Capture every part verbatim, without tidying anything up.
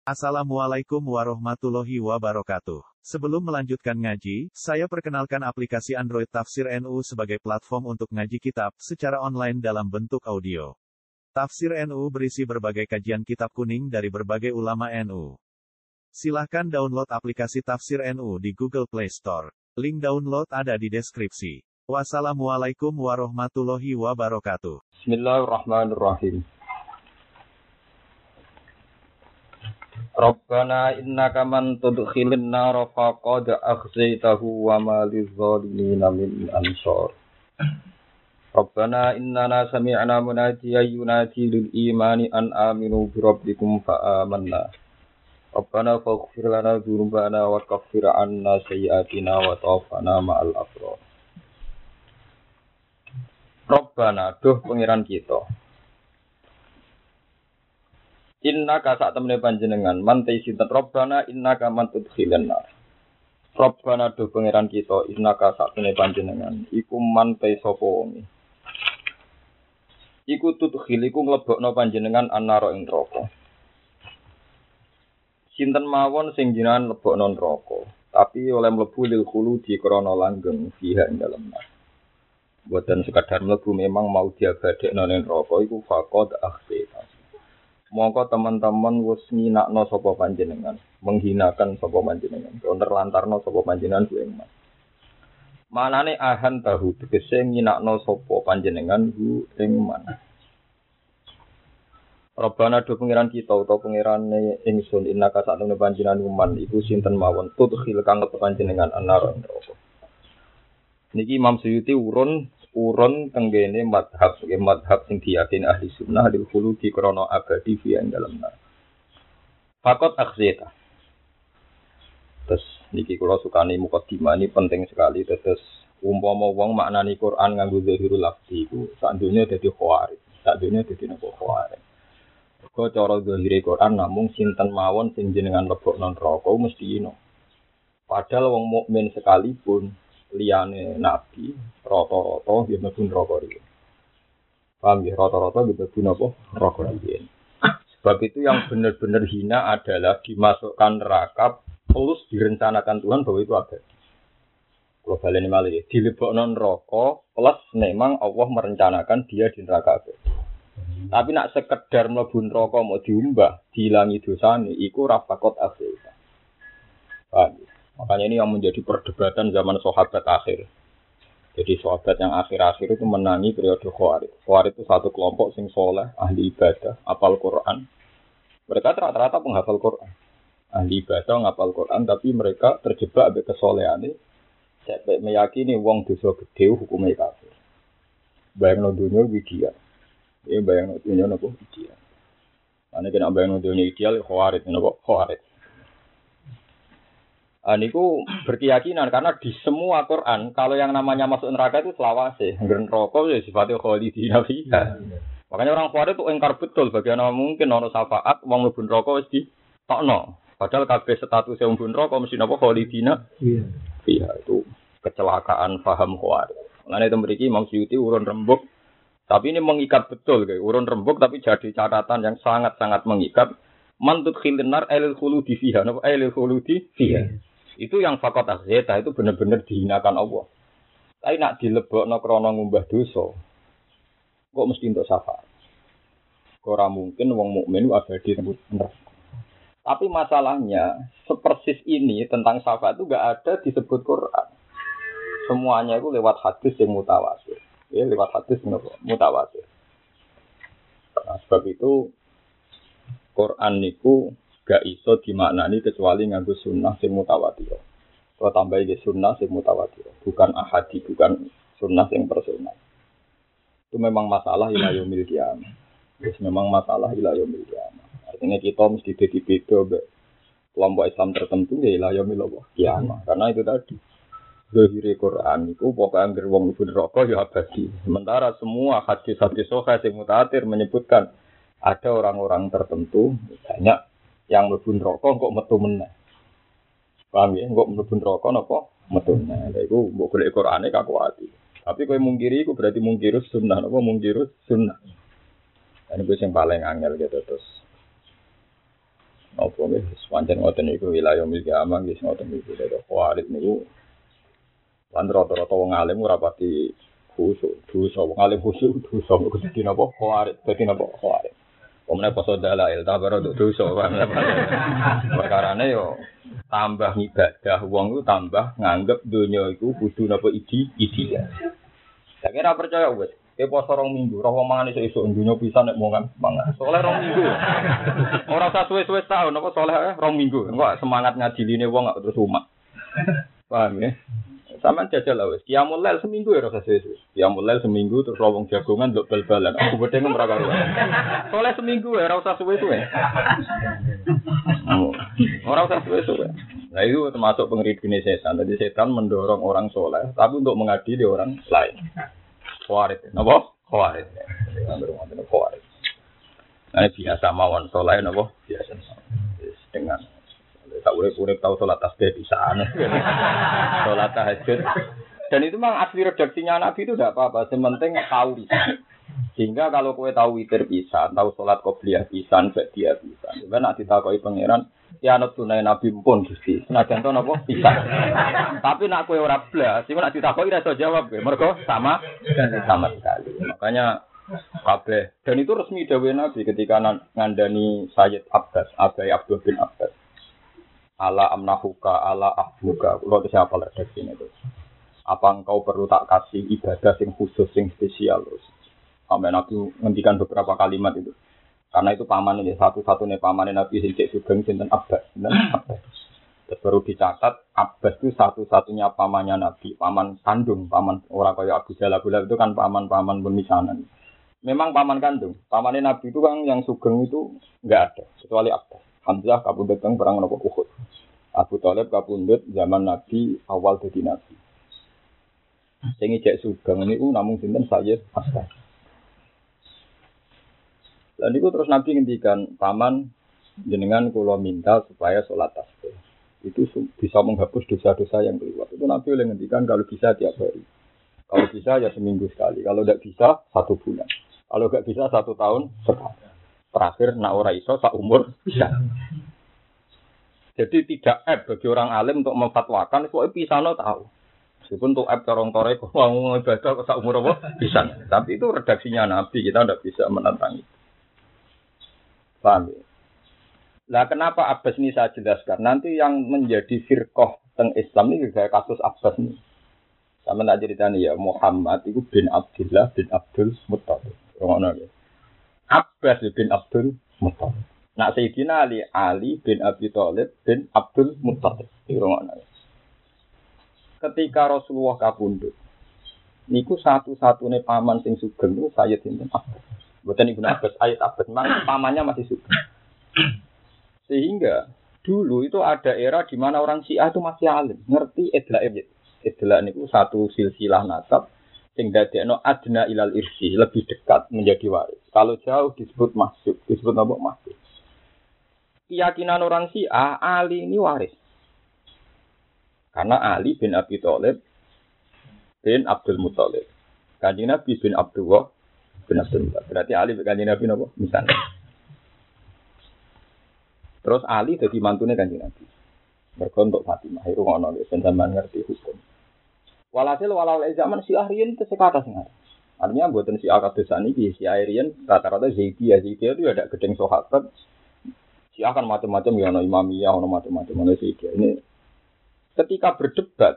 Assalamualaikum warahmatullahi wabarakatuh. Sebelum melanjutkan ngaji, saya perkenalkan aplikasi Android Tafsir N U sebagai platform untuk ngaji kitab secara online dalam bentuk audio. Tafsir N U berisi berbagai kajian kitab kuning dari berbagai ulama N U. Silahkan download aplikasi Tafsir N U di Google Play Store. Link download ada di deskripsi. Wassalamualaikum warahmatullahi wabarakatuh. Bismillahirrahmanirrahim. Rabbana innaka man tudkhilin nar faqad akhzaytahu wa ma lizzalimin min ansar. Rabbana innana sami'na munadiyan yunadi lil imani an aminu bi rabbikum fa amanna. Rabbana faghfir lana dzunubana wa kaffir 'anna sayyi'atina wa tawaffana ma'al abrar. Rabbana duh pangeran kita. Inna ka sak temene panjenengan mantai sinten Rabbana inna ka man tudkhilan nar. Rabbana do pangeran kita inna ka sak temene panjenengan iku mantai sapa wonge. Iku tudkhil iku mlebokno panjenengan annara ing neraka. Sinten mawon sing jenengan lebokno neraka, tapi oleh mlebu lil khuludi krana langgeng fiha ing dalem nar. Boten sekadar mlebu memang mau diabadekno ning neraka iku faqad akhsita. Mongko teman-teman wis nginakno sapa panjenengan, menghinakan sapa panjenengan, nerlantarno sapa panjenengan ku ing mas. Manane ahan tahu tegese nginakno sapa panjenengan ku ing man. Rabbana do pangeran kita utawa pangerane ingsun innaka satune panjenengan uman iku sinten mawon tudkhil kang panjenengan anar neraka. Niki Imam Suyuti urun urun tenggene madhab, nggih madhab sing diyakini ahli sunnah dil khuludi krana abadi fi ing dalem nar. Fakot akhzita. Terus niki kula sukani mukadimah ini penting sekali terus umpama wong maknani Quran nganggo zahirul lafzi iku sak dunya dadi khawarij, sak dunya dadi napa khawarij. Kok cara zahire Quran namung sinten mawon sing jenengan lebokno neraka mesti ino. Padahal wong mukmin sekalipun liyane nabi rata-rata nggih mlebu neraka iki. Paham ya rata-rata nggih mlebu napa neraka iki. Sebab itu yang benar-benar hina adalah dimasukkan neraka plus direncanakan Tuhan bahwa itu abadi. Kalau baleni malih dilebokno neraka plus memang Allah merencanakan dia di neraka abadi. Tapi nak sekedar mlebu neraka mau diumbah, diilangi dosane iku rafaqat akhir. Paham ya? Makanya ini yang menjadi perdebatan zaman sahabat akhir. Jadi sahabat yang akhir-akhir itu menangi periode Khawarij. Khawarij itu satu kelompok sing soleh, ahli ibadah, hafal Quran. Mereka rata-rata penghafal Quran. Ahli ibadah, ngapal Quran, tapi mereka terjebak ambek kesolehane. Sampai meyakini wong dosa gede hukumnya kafir. Bayangno dunya ideal. Ya bayangno dunya napa ideal. Ane kena bayangno dunya ideal Khawarij napa Khawarij. Aniku berkeyakinan karena di semua Quran kalau yang namanya masuk neraka itu selawase, ngger neraka ya sifatnya khalidina fiha. Makanya orang Khawarij itu engkar betul bagaimana mungkin ono syafaat wong mlebu neraka wis ditokno. Padahal kabeh status wong mlebu neraka mesti napa khalidina fiha. Itu kecelakaan paham Khawarij. Mulane itu mriki Imam Suyuti urun rembug tapi ini mengikat betul kayak urun rembug tapi jadi catatan yang sangat-sangat mengikat. Mantut khilinar ailil khuludi fiha napa ailil khuludi fiha. Itu yang fakot akhzeta itu benar-benar dihinakan Allah. Tapi nak dilebokno krana ngumbah dosa. Kok mesti untuk syafaat. Ora mungkin wong mukmin abadi neraka. Tapi masalahnya sepersis ini tentang syafaat itu enggak ada disebut Quran. Semuanya itu lewat hadis yang mutawatir. Ya, lewat hadis mutawatir. Nah, sebab itu Quran niku gak iso dimaknani kecuali nganggo sunnah sing mutawatir. Kalau tambahi ke sunnah sing mutawatir, bukan ahadi, bukan sunnah sing personal. Itu memang masalah ila yaumil qiyamah. Terus memang masalah ila yaumil qiyamah. Artinya kita mesti dadi beda mbek kelompok Islam tertentu ya ila yaumil qiyamah. Karena itu tadi zahire Quran iku pokoke anggere wong mlebu neraka ya abadi. Sementara semua hadis-hadis sahih sing mutawatir menyebutkan ada orang-orang tertentu banyak yang mlebu neraka kok metu meneh. Paham ya? Kok mlebu neraka napa metu meneh. Lha iku mbok golek Qur'ane kakuati. Tapi kowe mungkiri iku berarti mungkirus sunnah napa mungkirus sunnah. Ini gue yang paling angel gitu terus. Apa wis pancen ngoten niku wilayah milki amang wis ngoten niku dadi khawarit niku. Lan rata-rata wong alim ora pati khusuk, dosa wong alim khusuk dosa kok dadi napa khawarit, dadi napa khawarit. Omne poso dalail ta baru dosa kan. Perkarane yo tambah ibadah wong ku tambah nganggep donya iku kudu napa idi idi ya. Saya kira percaya wis. Ke poso rong minggu, roh wong mangan esuk-esuk dunya pisan nek mangan mangan. Soleh rong minggu. Ora usah suwe-suwe tahun apa soleh rong minggu. Engko semangat ngajiline wong gak terus umat. Paham ya? Sampeyan jajal lah wis. Qiyamul lail seminggu ya ora usah suwe-suwe. Qiyamul lail seminggu terus wong jagongan nduk bal-balan. Aku bedhe ora karo. Soleh seminggu ya ora usah suwe-suwe. Ora usah suwe-suwe. Nah itu termasuk pengeridine setan. Jadi setan mendorong orang soleh tapi untuk mengadili orang lain. Khawarit, napa? Khawarit. Ambil wonten khawarit. Nah biasa mawon saleh napa? Biasa. Dengan tak urip-urip tau salat tasbih pisan. Salat tahajud. Dan itu memang asli redaksinya Nabi itu tidak apa-apa, sementing tahu. Sehingga kalau kowe tahu witir pisan, tahu salat qobliyah pisan, ba'diyah pisan. Sebenarnya nek ditakoki pangeran, ya anut sunah Nabi pun Gusti. Senajan to napa pisan. Tapi nek kowe ora blas, iku nek ditakoki ora iso jawab, mergo sama sama sekali. Makanya kabeh dan itu resmi dawuh Nabi ketika ngandani Sayyid Abbas, Abai Abdul bin Abbas. Ala amnahuka ala ahbuka. Kulo wis hafal redaksine itu. Apa engkau perlu tak kasih ibadah sing khusus sing spesial? Sampai Nabi ngendikan beberapa kalimat itu. Karena itu paman ini satu-satunya paman Nabi sing cek sugeng sinten Abbas, sinten Abbas. Terus baru dicatat Abbas itu satu-satunya pamannya Nabi, paman kandung, paman orang kaya Abu Jahal, Abu Lahab itu kan paman-paman pemisahan. Memang paman kandung, pamannya Nabi itu kan yang sugeng itu enggak ada kecuali Abbas. Hamzah kabundut teng perang nopo Uhud. Abu Thalib kabundut zaman Nabi awal dadi Nabi. Sing cek sugeng niku namung sinten Sayyid Abbas. Dan itu terus Nabi ngendikan paman jenengan kula minta supaya sholat tasbih itu bisa menghapus dosa-dosa yang kelewat. Itu Nabi oleh ngendikan kalau bisa tiap hari. Kalau bisa ya seminggu sekali. Kalau tidak bisa satu bulan. Kalau tidak bisa satu tahun sekali. Terakhir nak ora iso sak umur bisa. Jadi tidak aib bagi orang alim untuk memfatwakan soal pisano tahu. Meskipun untuk aib corong-corong kok mau ibadah kok sak umur apa bisa. Tapi itu redaksinya Nabi, kita tidak bisa menentang itu. Paham ya? Lah kenapa Abbas ini saya jelaskan? Nanti yang menjadi firqah teng Islam ini juga kasus Abbas ini. Sama tak ceritanya ya Muhammad itu bin Abdullah bin Abdul Muttalib. Ngono ya. Abbas bin Abdul Muttalib. Nak Sayyidina Ali Ali bin Abi Thalib bin Abdul Muttalib. Ngono ya. Ketika Rasulullah kabundut, niku satu-satunya paman sing sugeng niku Sayyid sinten Abbas. Mboten Ibnu Abbas, ayat Abbas, memang pamannya masih sugeng. Sehingga dulu itu ada era di mana orang Syiah itu masih alim, ngerti idla'ib. Idla' niku satu silsilah nasab sing dadekno adna ilal irsi, lebih dekat menjadi waris. Kalau jauh disebut mahsub, disebut apa mahsub. Keyakinan orang Syiah Ali ini waris. Karena Ali bin Abi Thalib bin Abdul Muttalib. Kanjeng Nabi bin Abdullah bin Abdul Muttalib. Berarti Ali bin Kanjeng Nabi napa? Misalnya. Terus Ali jadi mantune Kanjeng Nabi. Mergo untuk Fatimah itu ngono lho, sampeyan ngerti hukum. Walhasil walau zaman Syiah riyen kesekata sing artinya mboten Syiah kados saniki, Syiah riyen rata-rata Zaidiyah, Zaidiyah itu ada gedeng sahabat. Syiah kan macam-macam ya ono Imamiyah, ono macam-macam ono Zaidiyah. Ini ketika berdebat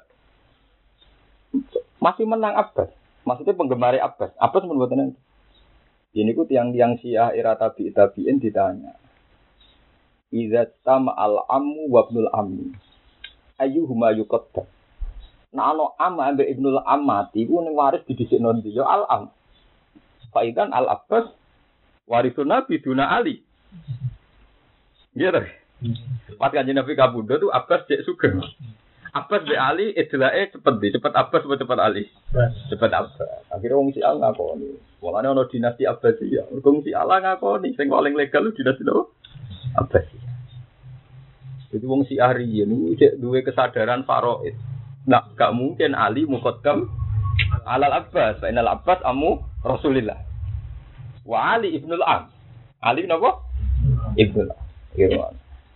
masih menang Abbas. Maksudnya penggemar Abbas. Abbas pun mboten. Ini ku tiang-tiang Syiah era tabi'in tabi'in ditanya. Idza tama al-ammu wa ibnul ammi ayyuhuma yuqaddam. Nah ana am ambek ibnul ammati ku ning waris didhisikno ndi ya al-am. Faidan al-Abbas warisun Nabi duna Ali. Gitu. Pas Kanjeng Nabi kabundut tu Abbas cek sugeng. Abbas be Ali idlae cepet di, cepet Abbas apa cepet Ali? Cepet Abbas. Akhire wong Syiah ngakoni. Walane ana dinasti Abbasiyah. Wong Syiah ngakoni sing paling legal lu dinasti lho Abbas. Jadi wong Syiah riyen niku cek duwe kesadaran faraid. Nah, gak mungkin Ali muqaddam alal Abbas, fa inal Abbas amu Rasulillah. Wa Ali ibnul Am. Ali napa? Ibnul Am.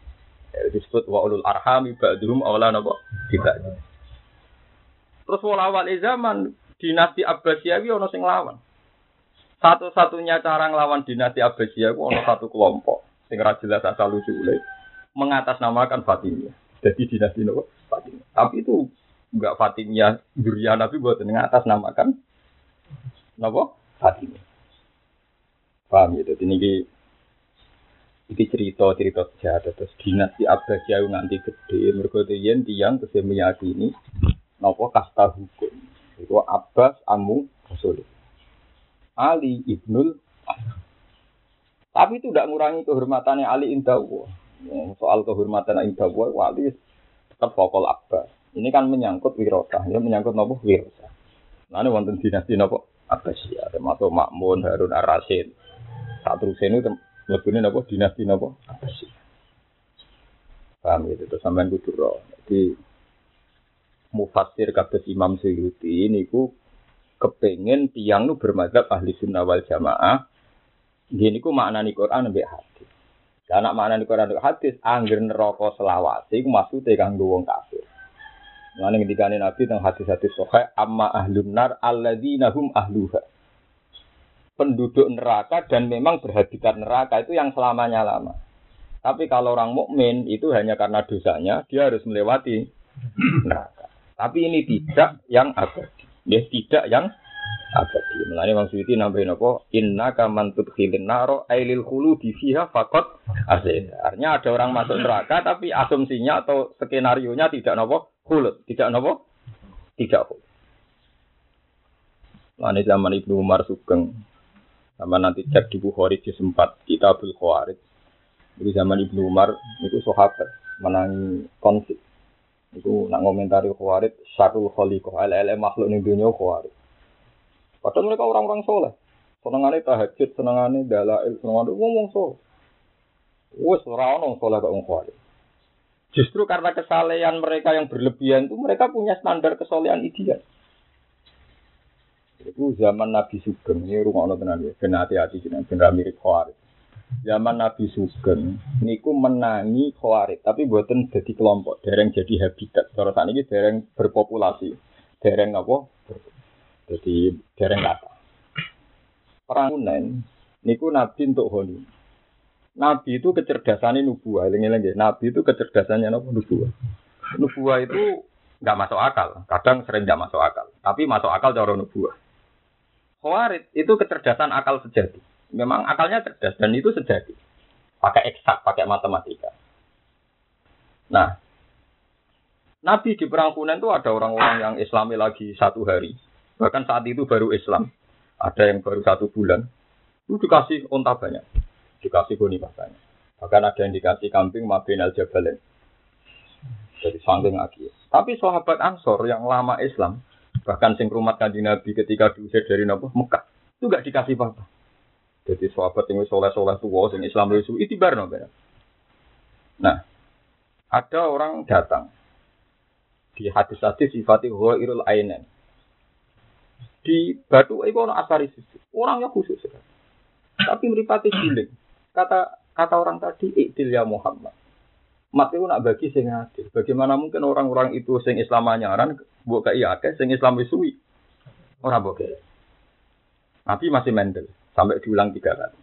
disebut wa ulul arhami ba'dhum awla napa tidak. Terus walawal zaman dinasti Abbasiyah iki ana sing lawan. Satu-satunya cara nglawan dinasti Abbasiyah ku ana satu kelompok sing ra jelas asal usule mengatasnamakan Fatimiyah. Jadi dinasti napa Fatimiyah. Tapi itu enggak Fatimiyah durian Nabi buat mengatasnamakan napa Fatimiyah. Paham ya? Dadi niki iki cerita-cerita sejarah terus dinasti Abbasiyah nganti gede mergo yen tiyang tesih meyakini napa kasta hukum. Iku Abbas Amu Rasul. Ali ibnul Tapi itu tidak ngurangi kehormatannya Ali indah Allah. Soal kehormatan indah Allah, wali tetap pokok Abbas. Ini kan menyangkut wirasah, ya menyangkut napa wirasah. Nah ini wonten dinasti napa Abbasiyah, termasuk Makmun, Harun ar-Rasyid. Satrusene itu lebune napa dinasti napa Abbasiyah. Paham itu terus sampean kudu ro. Jadi mufassir kados Imam Suyuti niku kepengin tiyang nu bermadzhab ahli sunnah wal jamaah. Nggih niku maknani Quran mbek hadis. Lah nek maknani Quran mbek hadis angger neraka selawase iku maksude kanggo wong kafir. Lan ngendikane Nabi teng hadis-hadis sahih amma ahlun nar alladzina hum ahluha. Penduduk neraka dan memang berhabitat neraka itu yang selamanya lama. Tapi kalau orang mukmin itu hanya karena dosanya dia harus melewati neraka. Tapi ini tidak yang abadi. Ya tidak yang abadi. Mulane Imam Suyuti nambahin apa? Innaka man tudkhilin naro ailil khuludi fiha faqat azza. Artinya ada orang masuk neraka tapi asumsinya atau skenarionya tidak napa? Khulud, tidak napa? Tidak khulud. Mulane zaman Ibnu Umar Sugeng sama nanti cek di Bukhari juz empat Kitabul Khawarij. Di zaman Ibnu Umar itu sahabat menangi konflik. Itu nak ngomentari Khawarij syarrul khaliqah al makhluk ning dunya Khawarij. Padahal mereka orang-orang soleh. Senengane tahajud, senengane dalail, senengane ngomong soleh. Wes ora ono soleh kok wong Khawarij. Justru karena kesalehan mereka yang berlebihan itu mereka punya standar kesolehan ideal. Itu zaman Nabi Sugeng, ini rungokno tenan ya, ben hati-hati jenengan ben ra mirip Khawarij. Zaman Nabi Sugeng niku menangi Khawarij, tapi mboten dadi kelompok, dereng jadi habitat. Cara sakniki dereng berpopulasi. Dereng apa? Jadi dereng kata. Perang Hunain niku Nabi entuk honi. Nabi itu kecerdasannya nubuah, eling-eling nggih. Nabi itu kecerdasannya napa nubuah. Nubuah itu enggak masuk akal, kadang sering enggak masuk akal, tapi masuk akal cara nubuah. Khawarij itu kecerdasan akal sejati. Memang akalnya cerdas dan itu sejati. Pakai eksak, pakai matematika. Nah, Nabi di perang Hunain itu ada orang-orang yang Islami lagi satu hari. Bahkan saat itu baru Islam. Ada yang baru satu bulan. Itu dikasih unta banyak. Dikasih goni banyak. Bahkan ada yang dikasih kambing mabin al-jabalain. Jadi sangking lagi. Tapi sahabat Ansor yang lama Islam, bahkan sing rumat Kanjeng Nabi ketika diusir dari Mekah, itu enggak dikasih apa-apa. Jadi sahabat yang soleh-soleh tua, yang Islam itu itibar no. Nah, ada orang datang di hadis-hadis sifatnya ghairul ainen. Di Batu itu ada asari sisi. Orangnya khusus sekali. Tapi meripati giling. Kata kata orang tadi, iktil ya Muhammad. Mat itu nak bagi sing adil. Bagaimana mungkin orang-orang itu sing Islam anyaran, buat kai akeh, sing Islam suwi. Orang boleh. Nabi masih mendel. Sampai diulang tiga kali.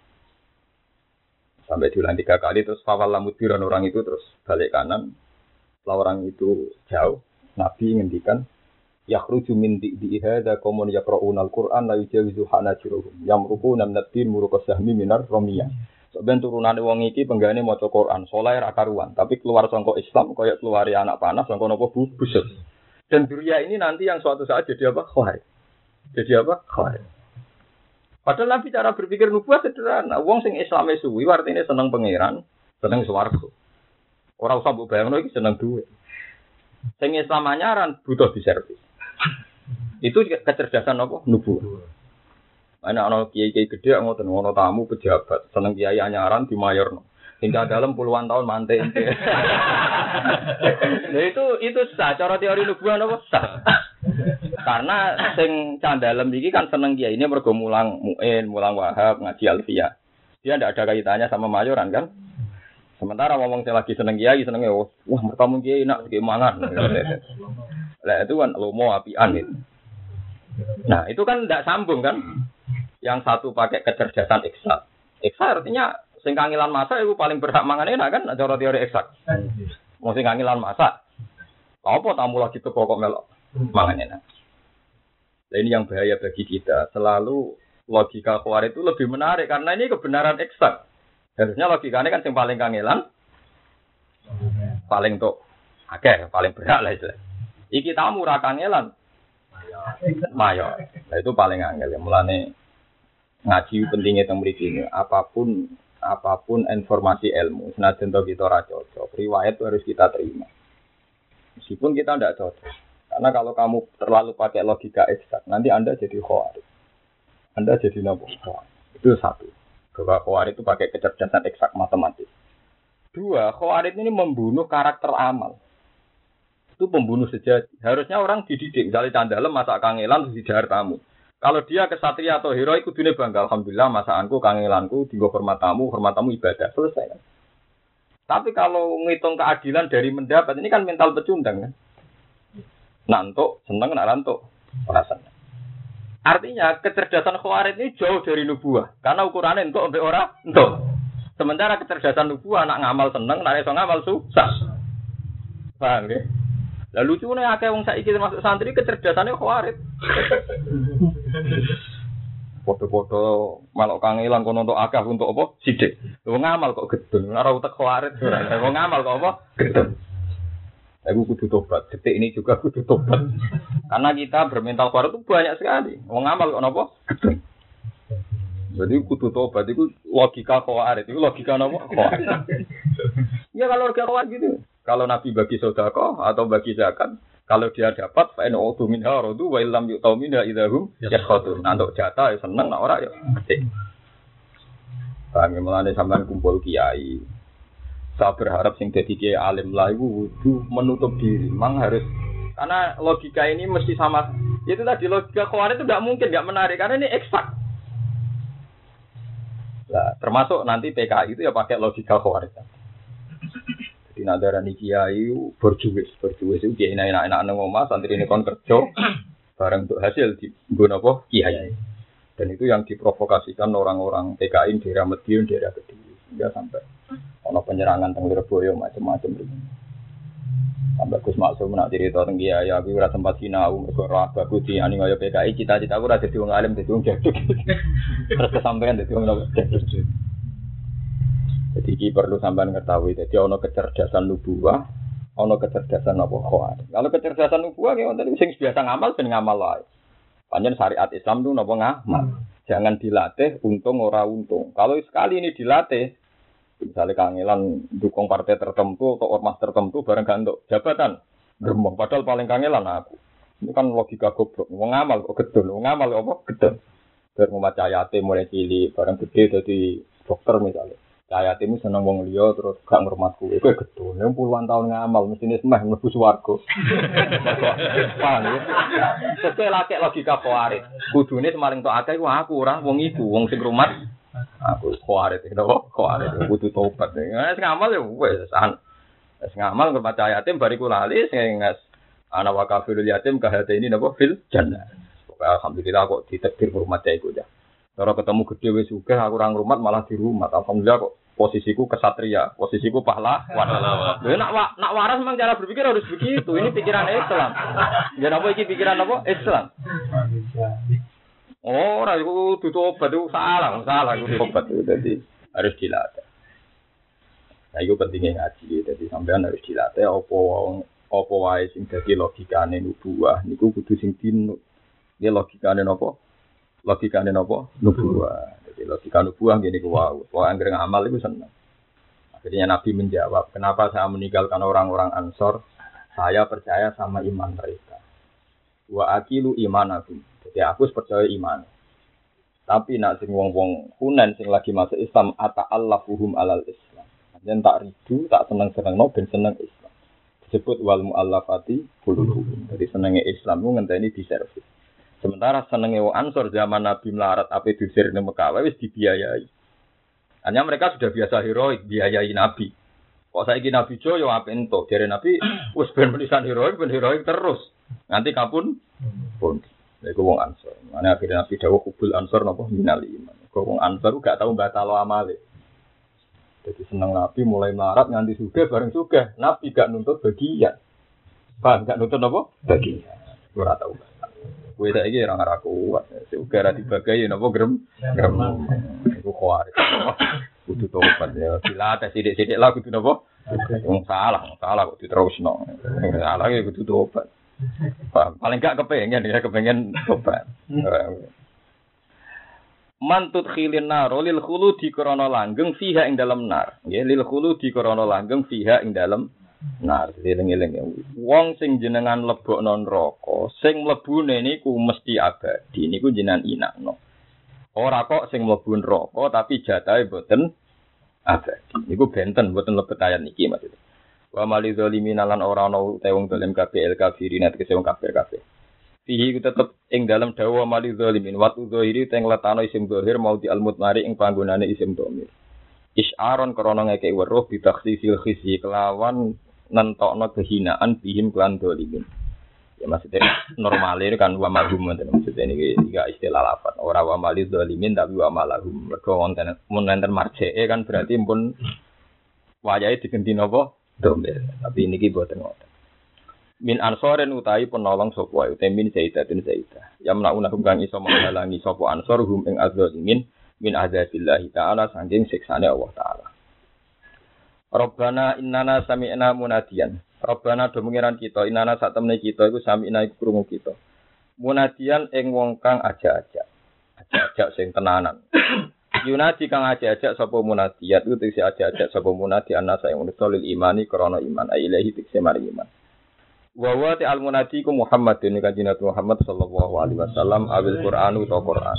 Sampai diulang tiga kali, terus fawal lamudbiran orang itu terus balik kanan. Setelah orang itu jauh, Nabi ngendikan, yakhruju min di'i hadza qaumun yaqra'una al-Qur'an la yujawizu hanajiruhum yamruquna min ad-din muruqas sahmi minar ramiyah. Sampeyan turunane wong iki penggane maca Qur'an, saleh ra karuan, tapi keluar saka Islam kaya keluari anak panas saka napa busuk. Dan duria ini nanti yang suatu saat jadi apa? Khawarij. Jadi apa? Khawarij. Padahal Nabi cara berpikir nubuah sederhana. Wong sing Islame suwi artine seneng pangeran, seneng swarga. Ora usah mbok bayangno iki seneng duit. Sing Islam anyaran butuh diservis. Itu kecerdasan apa? Nubuah. Ana ana kiai-kiai gede ngoten ngono tamu pejabat, seneng kiai anyaran di mayorno. Hingga dalam puluhan tahun mantek. Nah itu itu sah cara teori nubuah napa sah. Karena sing candalem iki kan seneng kiai ini mergo mulang Muin, mulang Wahab, ngaji Alfiyah. Dia ndak ada kaitannya sama mayoran kan? Sementara ngomong saya lagi seneng kiai, senengnya wah mertamu kiai enak kayak mangan. Lah itu kan lomo apian itu. Nah, itu kan tidak sambung kan? Yang satu pakai kecerdasan eksak. Eksak artinya sing kangilan masak itu paling berhak mangan enak kan? Cara teori eksak. Mau sing kangilan masak. Apa tamu lagi tuh kok melok mangan enak. Nah, ini yang bahaya bagi kita. Selalu logika Khawarij itu lebih menarik karena ini kebenaran eksak. Harusnya logikanya kan yang paling kangelan, paling tuh, oke, okay, paling berat lah itu. Iki tamu ra kangelan, mayo. Nah, itu paling angel ya. Mulane ngaji pentingnya teng mriki. Apapun apapun informasi ilmu, senajan to kita ora cocok, riwayat itu harus kita terima. Meskipun kita tidak cocok. Karena kalau kamu terlalu pakai logika eksak, nanti Anda jadi Khawarij. Anda jadi nopo. Itu satu. Bahwa Khawarij itu pakai kecerdasan eksak matematis. Dua, Khawarij ini membunuh karakter amal. Itu pembunuh sejati. Harusnya orang dididik. Misalnya candalem masak kangelan terus didahar tamu. Kalau dia kesatria atau hero, ikut dunia bangga. Alhamdulillah masakanku, kangelanku, tinggal hormat tamu, hormat tamu ibadah. Selesai kan? Tapi kalau ngitung keadilan dari mendapat, ini kan mental pecundang kan? Nantuk, seneng, nantuk. Rasanya. Artinya kecerdasan Khawarij ini jauh dari nubuah. Karena ukurannya entuk sampai ora entuk. Sementara kecerdasan nubuah nak ngamal seneng, nak iso ngamal susah. Paham ya? Lah lucune akeh wong saiki termasuk santri kecerdasannya Khawarij. Foto-foto malok kangelan kono untuk akeh untuk apa? Sidik. Wong ngamal kok gedun, ora utek Khawarij ora. Wong ngamal kok apa? Gedun. Aku kudu tobat. Detik ini juga kudu tobat. Karena kita bermental Khawarij itu banyak sekali. Wong ngamal kok napa? Gedung. Jadi kudu tobat itu logika Khawarij. Itu logika napa? Khawarij. Ya kalau logika Khawarij gitu. Kalau Nabi bagi sedekah atau bagi zakat, kalau dia dapat fa in utu minha radu wa illam yu'tu minha idahum yakhutun. Nah, untuk jatah ya seneng, nek ora ya gede. Kami mulane sampean kumpul kiai. Saya berharap sing dadi kiai alim lah iku kudu menutup diri. Memang harus karena logika ini mesti sama. Itu tadi logika Khawarij itu enggak mungkin enggak menarik karena ini eksak. Nah, termasuk nanti P K I itu ya pakai logika Khawarij. Jadi nadarani kiai berjuwis, berjuwis itu kiai enak-enak nang omah santri ini kon kerja bareng untuk hasil di nggon apa kiai. Dan itu yang diprovokasikan orang-orang P K I di daerah Madiun, daerah Kediri hingga sampai ono penyerangan teng Lirboyo macam-macam itu. Sampai Gus Maksum nak cerita teng kiai aku ora sempat sinau mergo ora bagus di ani kaya P K I cita-citaku ora dadi wong alim dadi wong jaduk. Terus kesampean dadi wong jaduk. Jadi iki perlu sampean ketahui. Jadi ana kecerdasan nubuwah, ana kecerdasan apa Khawarij. Kalau kecerdasan nubuwah ki wonten sing biasa ngamal ben ngamal wae. Panjen syariat Islam itu napa ngamal. Jangan dilatih untung ora untung. Kalau sekali ini dilatih misalnya kangelan dukung partai tertentu atau ormas tertentu bareng gak untuk jabatan gremeng padahal paling kangelan aku. Ini kan logika goblok. Wong ngamal kok gedun, wong ngamal kok apa gedun. Bar membaca ayate mulai cilik bareng gede dadi dokter misalnya. Ayatemu seneng wong liya terus gak ngurmatku. Iku gedun. Nek puluhan tahun ngamal mestine semeh mlebu swarga. Paham ya? Sesuai laki logika Khawarij. Kudune semaling tok akeh iku aku ora wong iku, wong sing ngurmat aku Khawarij itu kok Khawarij kudu tobat. Nek ngamal ya wis san. Wis ngamal ngurmat yatim bariku lali sing ana wa kafirul yatim kahateni napa fil jannah. Alhamdulillah kok ditakdir ngurmat iku ya. Kalau ketemu gede wis sugih aku ora ngrumat malah di rumah. Alhamdulillah kok posisiku kesatria, posisiku pahlawan. Lha nak nak waras memang cara berpikir harus begitu. Ini pikiran Islam. Ya apa iki pikiran apa? Islam. Oh, ora iku ditobat itu salah, salah iku tobat itu jadi harus dilatih. Nah, itu pentingnya ngaji. Jadi sampean harus dilatih apa apa wae sing dadi logikane nubuwah niku kudu sing dinut. Iki logikane napa? Logikane napa? Nubuwah. Jadi logika nubuwah ngene ku wae. Wong anggere ngamal iku seneng. Akhirnya Nabi menjawab, "Kenapa saya meninggalkan orang-orang Ansor? Saya percaya sama iman mereka. Wa aqilu imanakum." Jadi aku percaya iman. Tapi nak sing wong-wong Hunain sing lagi masuk Islam ata'allafuhum alal Islam. Yen tak ridu, tak seneng-senengno ben seneng Islam. Disebut wal muallafati qulubuhum. Jadi senenge Islam ku ngenteni diservis. Sementara senenge wong Ansor zaman Nabi melarat ape diusir ning Mekah wis dibiayai. Hanya mereka sudah biasa heroik biayai Nabi. Kok saiki Nabi Jo yo apik entuk, jare Nabi wis ben menisan heroik, ben heroik terus. Nanti kapun pun. Iku wong Ansor. Mane akhire Nabi dawuh kubul Ansor napa minal iman. Kok wong Ansor gak tau batalo amale. Jadi seneng Nabi mulai melarat nganti sugih bareng sugih. Nabi gak nuntut bagian. Paham gak nuntut apa? Bagian. Ora tau. Kowe saiki ora ora kuat. Sugih ra dibagi napa grem? Grem. Iku kuwi. Kudu tobat ya. Bila tes sithik-sithik lah kudu napa? Wong salah, salah kok diterusno. Salah ya kudu tobat. Paling gak kepengen ya kepengen tobat. Mantut khilin naro lil khuludi krana langgeng fiha ing dalem nar. Nggih lil khuludi krana langgeng fiha ing dalem nar. Eling-eling wong sing jenengan lebokno neraka, sing mlebune niku mesti abadi. Niku jenengan inakno. Ora kok sing mlebu neraka tapi jatahe boten abadi. Niku benten boten lebet ayat niki maksudnya. Wa mali zalimin lan ora ana te wong zalim kabeh el kafirin tegese wong kafir kabeh. Fihi tetep ing dalam dawa mali zalimin wa tudzahiri teng letano isim zahir mau di almut mari ing panggonane isim dhamir. Isyaron krana ngekeki weruh bitakhsisil khizyi kelawan nentokno kehinaan bihim klan zalimin. Ya maksudnya normalnya kan wa malhum maksudnya ini tiga istilah lafaz ora wa malid zalimin tapi wa malahum mergo wonten mun enten marjee kan berarti pun wayahe digenti napa domir tapi niki boten ngoten min ansoren utahi penolong sapa wae temin sayyidatin sayyidah yamna unahum kang iso menghalangi sapa ansor hum ing azzalimin min azabillahi taala saking siksane Allah taala. Rabbana innana sami'na munadiyan. Rabbana do mengiran kita innana sak temene kita iku sami'na iku krungu kita. Munadiyan ing wong kang aja-aja. Aja-aja sing tenanan. Yunadi kang aja-aja sapa munadiyat iku tegese aja-aja sapa munadi anasa ing nusulil imani krana iman ailahi tegese mari iman. Wa wa ta'al munadi ku Muhammadun kanjeng Nabi Muhammad sallallahu alaihi wasallam awil Qur'anu ta Qur'an.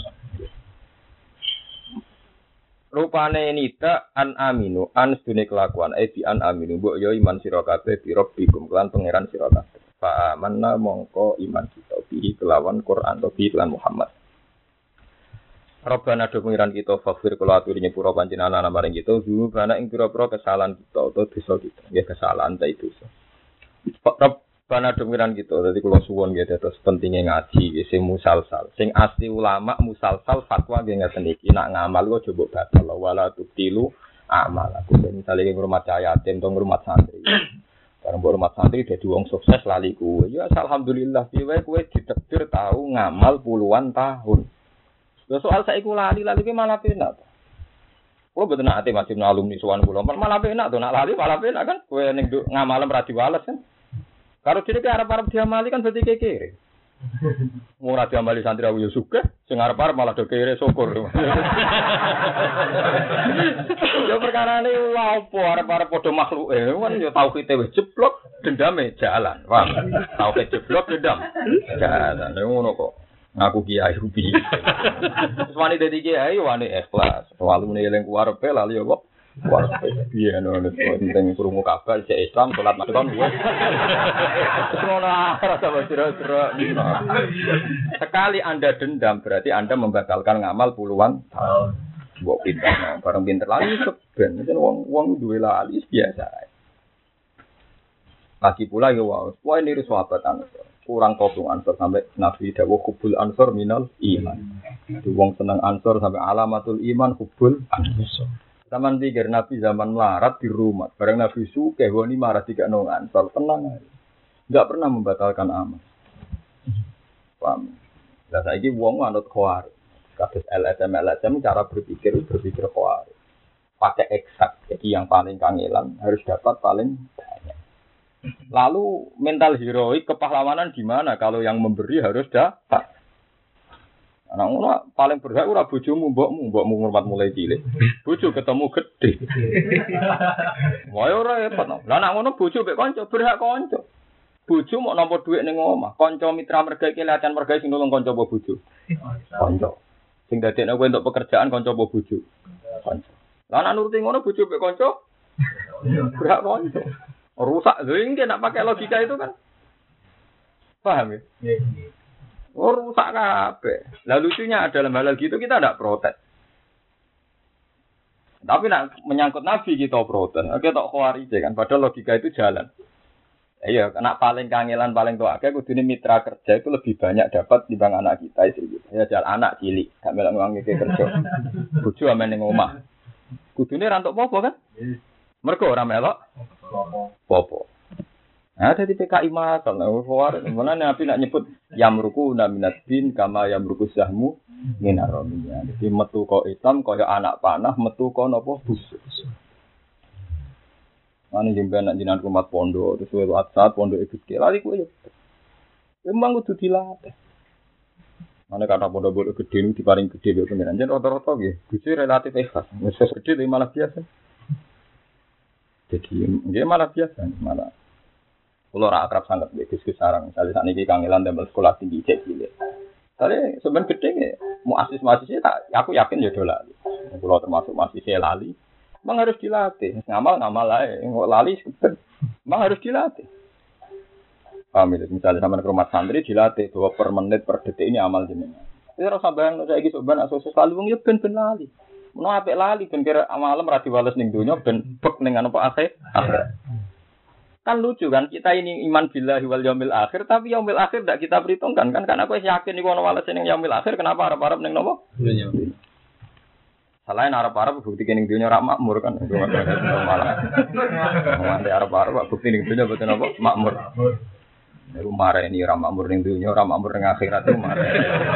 Rupane nita an aminu an sedune kelakuan eh bi an aminu mbok yo iman sira kabeh bi rabbikum kelan pangeran sira kabeh fa amanna mongko iman kita bi kelawan Quran to bi kelan Muhammad. Rabbana do pangeran kita faghfir kula aturi nyepura panjenengan ana maring kita dulu kana ing pira-pira kesalahan kita utawa dosa kita nggih kesalahan ta itu. Rabbana do pangeran kita dadi kula suwun nggih terus pentinge ngaji sing musalsal sing asli ulama musalsal fatwa nggih ngaten iki nak ngamal kok coba batal wala tutilu amal aku misale ngurmat yatim to ngurmat santri bareng ngurmat santri dadi wong sukses lali kuwe ya alhamdulillah piye kowe ditakdir tau ngamal puluhan tahun lha soal saiki lali lali ki malah penak kula mboten ate masih alumni suwan kula malah penak to nak lali malah penak kan kowe ning ngamalem ra diwales kan. Kalau diri ke arep-arep diamali kan berarti kekere. Ora diamali santri awu yo sugih, sing arep-arep malah do kere syukur. Yo perkarane opo arep-arep padha makhluke, kan yo tauhide wis jeblok, dendame jalan. Wah, tauhid jeblok dendam. Jalan. Ngono kok. Ngaku kiai rupi. Wis wani dadi kiai wani ikhlas. Walune eling kuwarepe lali yo kok. Wah, iya no, penting kurungu kabar cek Islam salat makan gue. Semua rasa bercerah-cerah. Sekali Anda dendam berarti Anda membatalkan ngamal puluhan tahun. Buat pintar, bareng pintar lagi seben. Jadi uang uang dua lali biasa. Lagi pula ya wow, wah ini sahabat Ansor. Kurang kopung Ansor sampai Nabi dawuh kubul Ansor minal iman. Wong seneng Ansor sampai alamatul iman kubul Ansor. Zaman pikir Nabi zaman melarat di rumah, bareng Nabi suke, wani marah tiga nongan, soal tenang, nggak pernah membatalkan amal. Paham? Dan saya ini wong anut khawar, kasus L S M L S M cara berpikir berpikir khawar, pakai eksak, jadi yang paling kangelan harus dapat paling banyak. Lalu mental heroik kepahlawanan gimana kalau yang memberi harus dapat? Anak ngono paling berhak ora bojomu mbokmu, mbokmu ngurmat mulai cilik. Bojo ketemu gede. Wae ora repot. Lah anak ngono bojo mek kanca berhak kanca. Bojo mok nampa dhuwit ning omah, kanca mitra merga iki latihan merga sing nulung kanca apa bojo? Kanca. Sing dadekne kowe entuk pekerjaan kanca apa bojo? Kanca. Lah anak nuruti ngono bojo mek kanca berhak kanca. Rusak lho iki nek pakai logika itu kan. Paham ya? Iya. Oh rusak kabeh. Lah lucunya adalah hal gitu kita tidak protes. Tapi nak menyangkut Nabi kita protes. Oke tok khawarij kan. Padahal logika itu jalan. Iya, nak paling kangelan paling tua akeh kudune mitra kerja itu lebih banyak dapat dibanding anak kita istri kita. Ya jalan anak cilik, gak melok wong iki kerja. Bojo amen ning omah. Kudune ra entuk apa-apa kan? Mergo ora melok apa-apa. Nah, ada di P K I Matal, nah, mana Nabi nak nyebut yamruku naminat bin kama yamruku sahmu minaromia. Jadi metu kau Islam kau anak panah, metu kau nopo busuk. Mana jemben nak jinan kumat pondok, terus waktu saat pondok ikut kelali kau ya. Memang kudu dilatih. Mana kata pondok boleh gede ni, diparing gede dia pengiran. Jadi rata-rata gitu, gede relatif ikhlas. Mesej gede tapi malah biasa. Jadi dia malah biasa, malah. Kalau orang akrab sangat diskusi sarang, misalnya saat ini kangelan dan sekolah tinggi cek cilik. Tapi sebenarnya gede nih, mau asis mahasiswa tak, aku yakin jodoh lali. Kalau termasuk mahasiswa lali, memang harus dilatih. Ngamal ngamal lah, nggak lali sebenarnya, memang harus dilatih. Paham itu? Misalnya sama ke rumah santri dilatih bahwa per menit per detik ini amal jenengan. Itu rasa bayang saya gitu sebenarnya asosiasi selalu wong ya ben ben lali. Mau apa lali ben kira malam rati balas ning dunia ben bek ning apa akhir. Kan lucu kan, kita ini iman billahi wal yaumil akhir, tapi yaumil akhir tidak kita perhitungkan kan, karena aku yakin iku ono walase ning yaumil akhir, kenapa arep-arep ning nopo? Dunya. Selain arep-arep bukti ning dunya ora makmur kan, malah. Mande arep-arep bukti ning dunya boten apa? Makmur. Niku mare ini ora makmur ning dunya, ora makmur ning akhirat itu mare.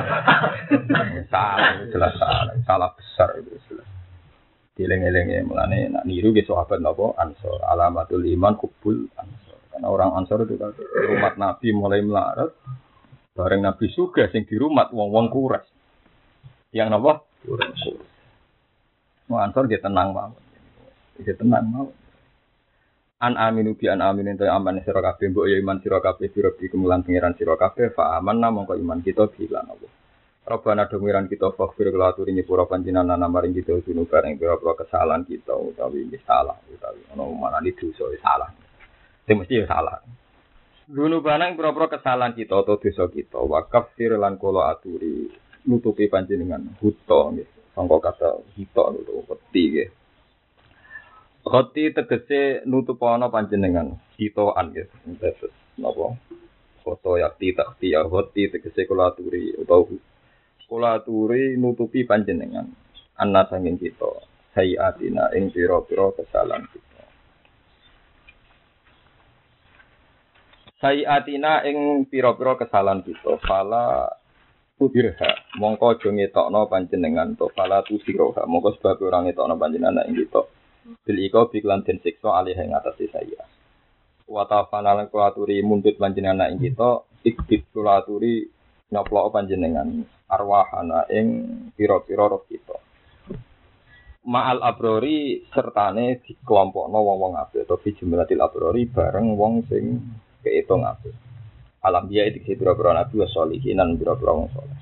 Salah, jelas salah, salah besar itu jelas. Dileng-elenge mulane nak niru ge sahabat napa Ansor alamatul iman kubul Ansor karena orang Ansor itu kan umat Nabi mulai melarat bareng Nabi sugih sing dirumat wong-wong kuras yang napa kuras wong Ansor ge tenang mawon ge tenang mawon an aminu bi an aminu ento aman sira kabeh mbok ya iman sira kabeh sira bi kemulan pangeran sira kabeh fa amanna mongko iman kita bilan apa Rabbana domiran kita fakfir kelaturi nyepura panjenengan namaring kita sunu bareng pira-pira kesalahan kita utawi salah utawi ana mana di dosa salah. Sing mesti salah. Dunu bareng pira-pira kesalahan kita atau dosa kita wa kafir lan kula aturi nutupi panjenengan buta nggih. Sangka kata hita utawa peti nggih. Hati tegese nutupono panjenengan hitoan nggih. Terus napa? Foto yakti takti ya hati tegese kula aturi utawa kula aturi nutupi panjenengan ana sanging kita sayiatina ing pira-pira kesalahan kita sayiatina ing pira-pira kesalahan kita fala ubirha mongko aja ngetokno panjenengan to fala tusiroha mongko sebab ora ngetokno panjenengan ing kita bil iko biklan den siksa alih ing atase saya wa tafana lan kula aturi mundhut panjenengan ing kita ikbit kula aturi nyoplok panjenengan arwahana ing pira-pira roh kita. Ma'al abrori sertane dikelompokno wong-wong apik atau fi jumlatil abrori bareng wong sing keitung apik. Alam biya iki pira-pira nabi wa sholihin lan pira-pira wong saleh.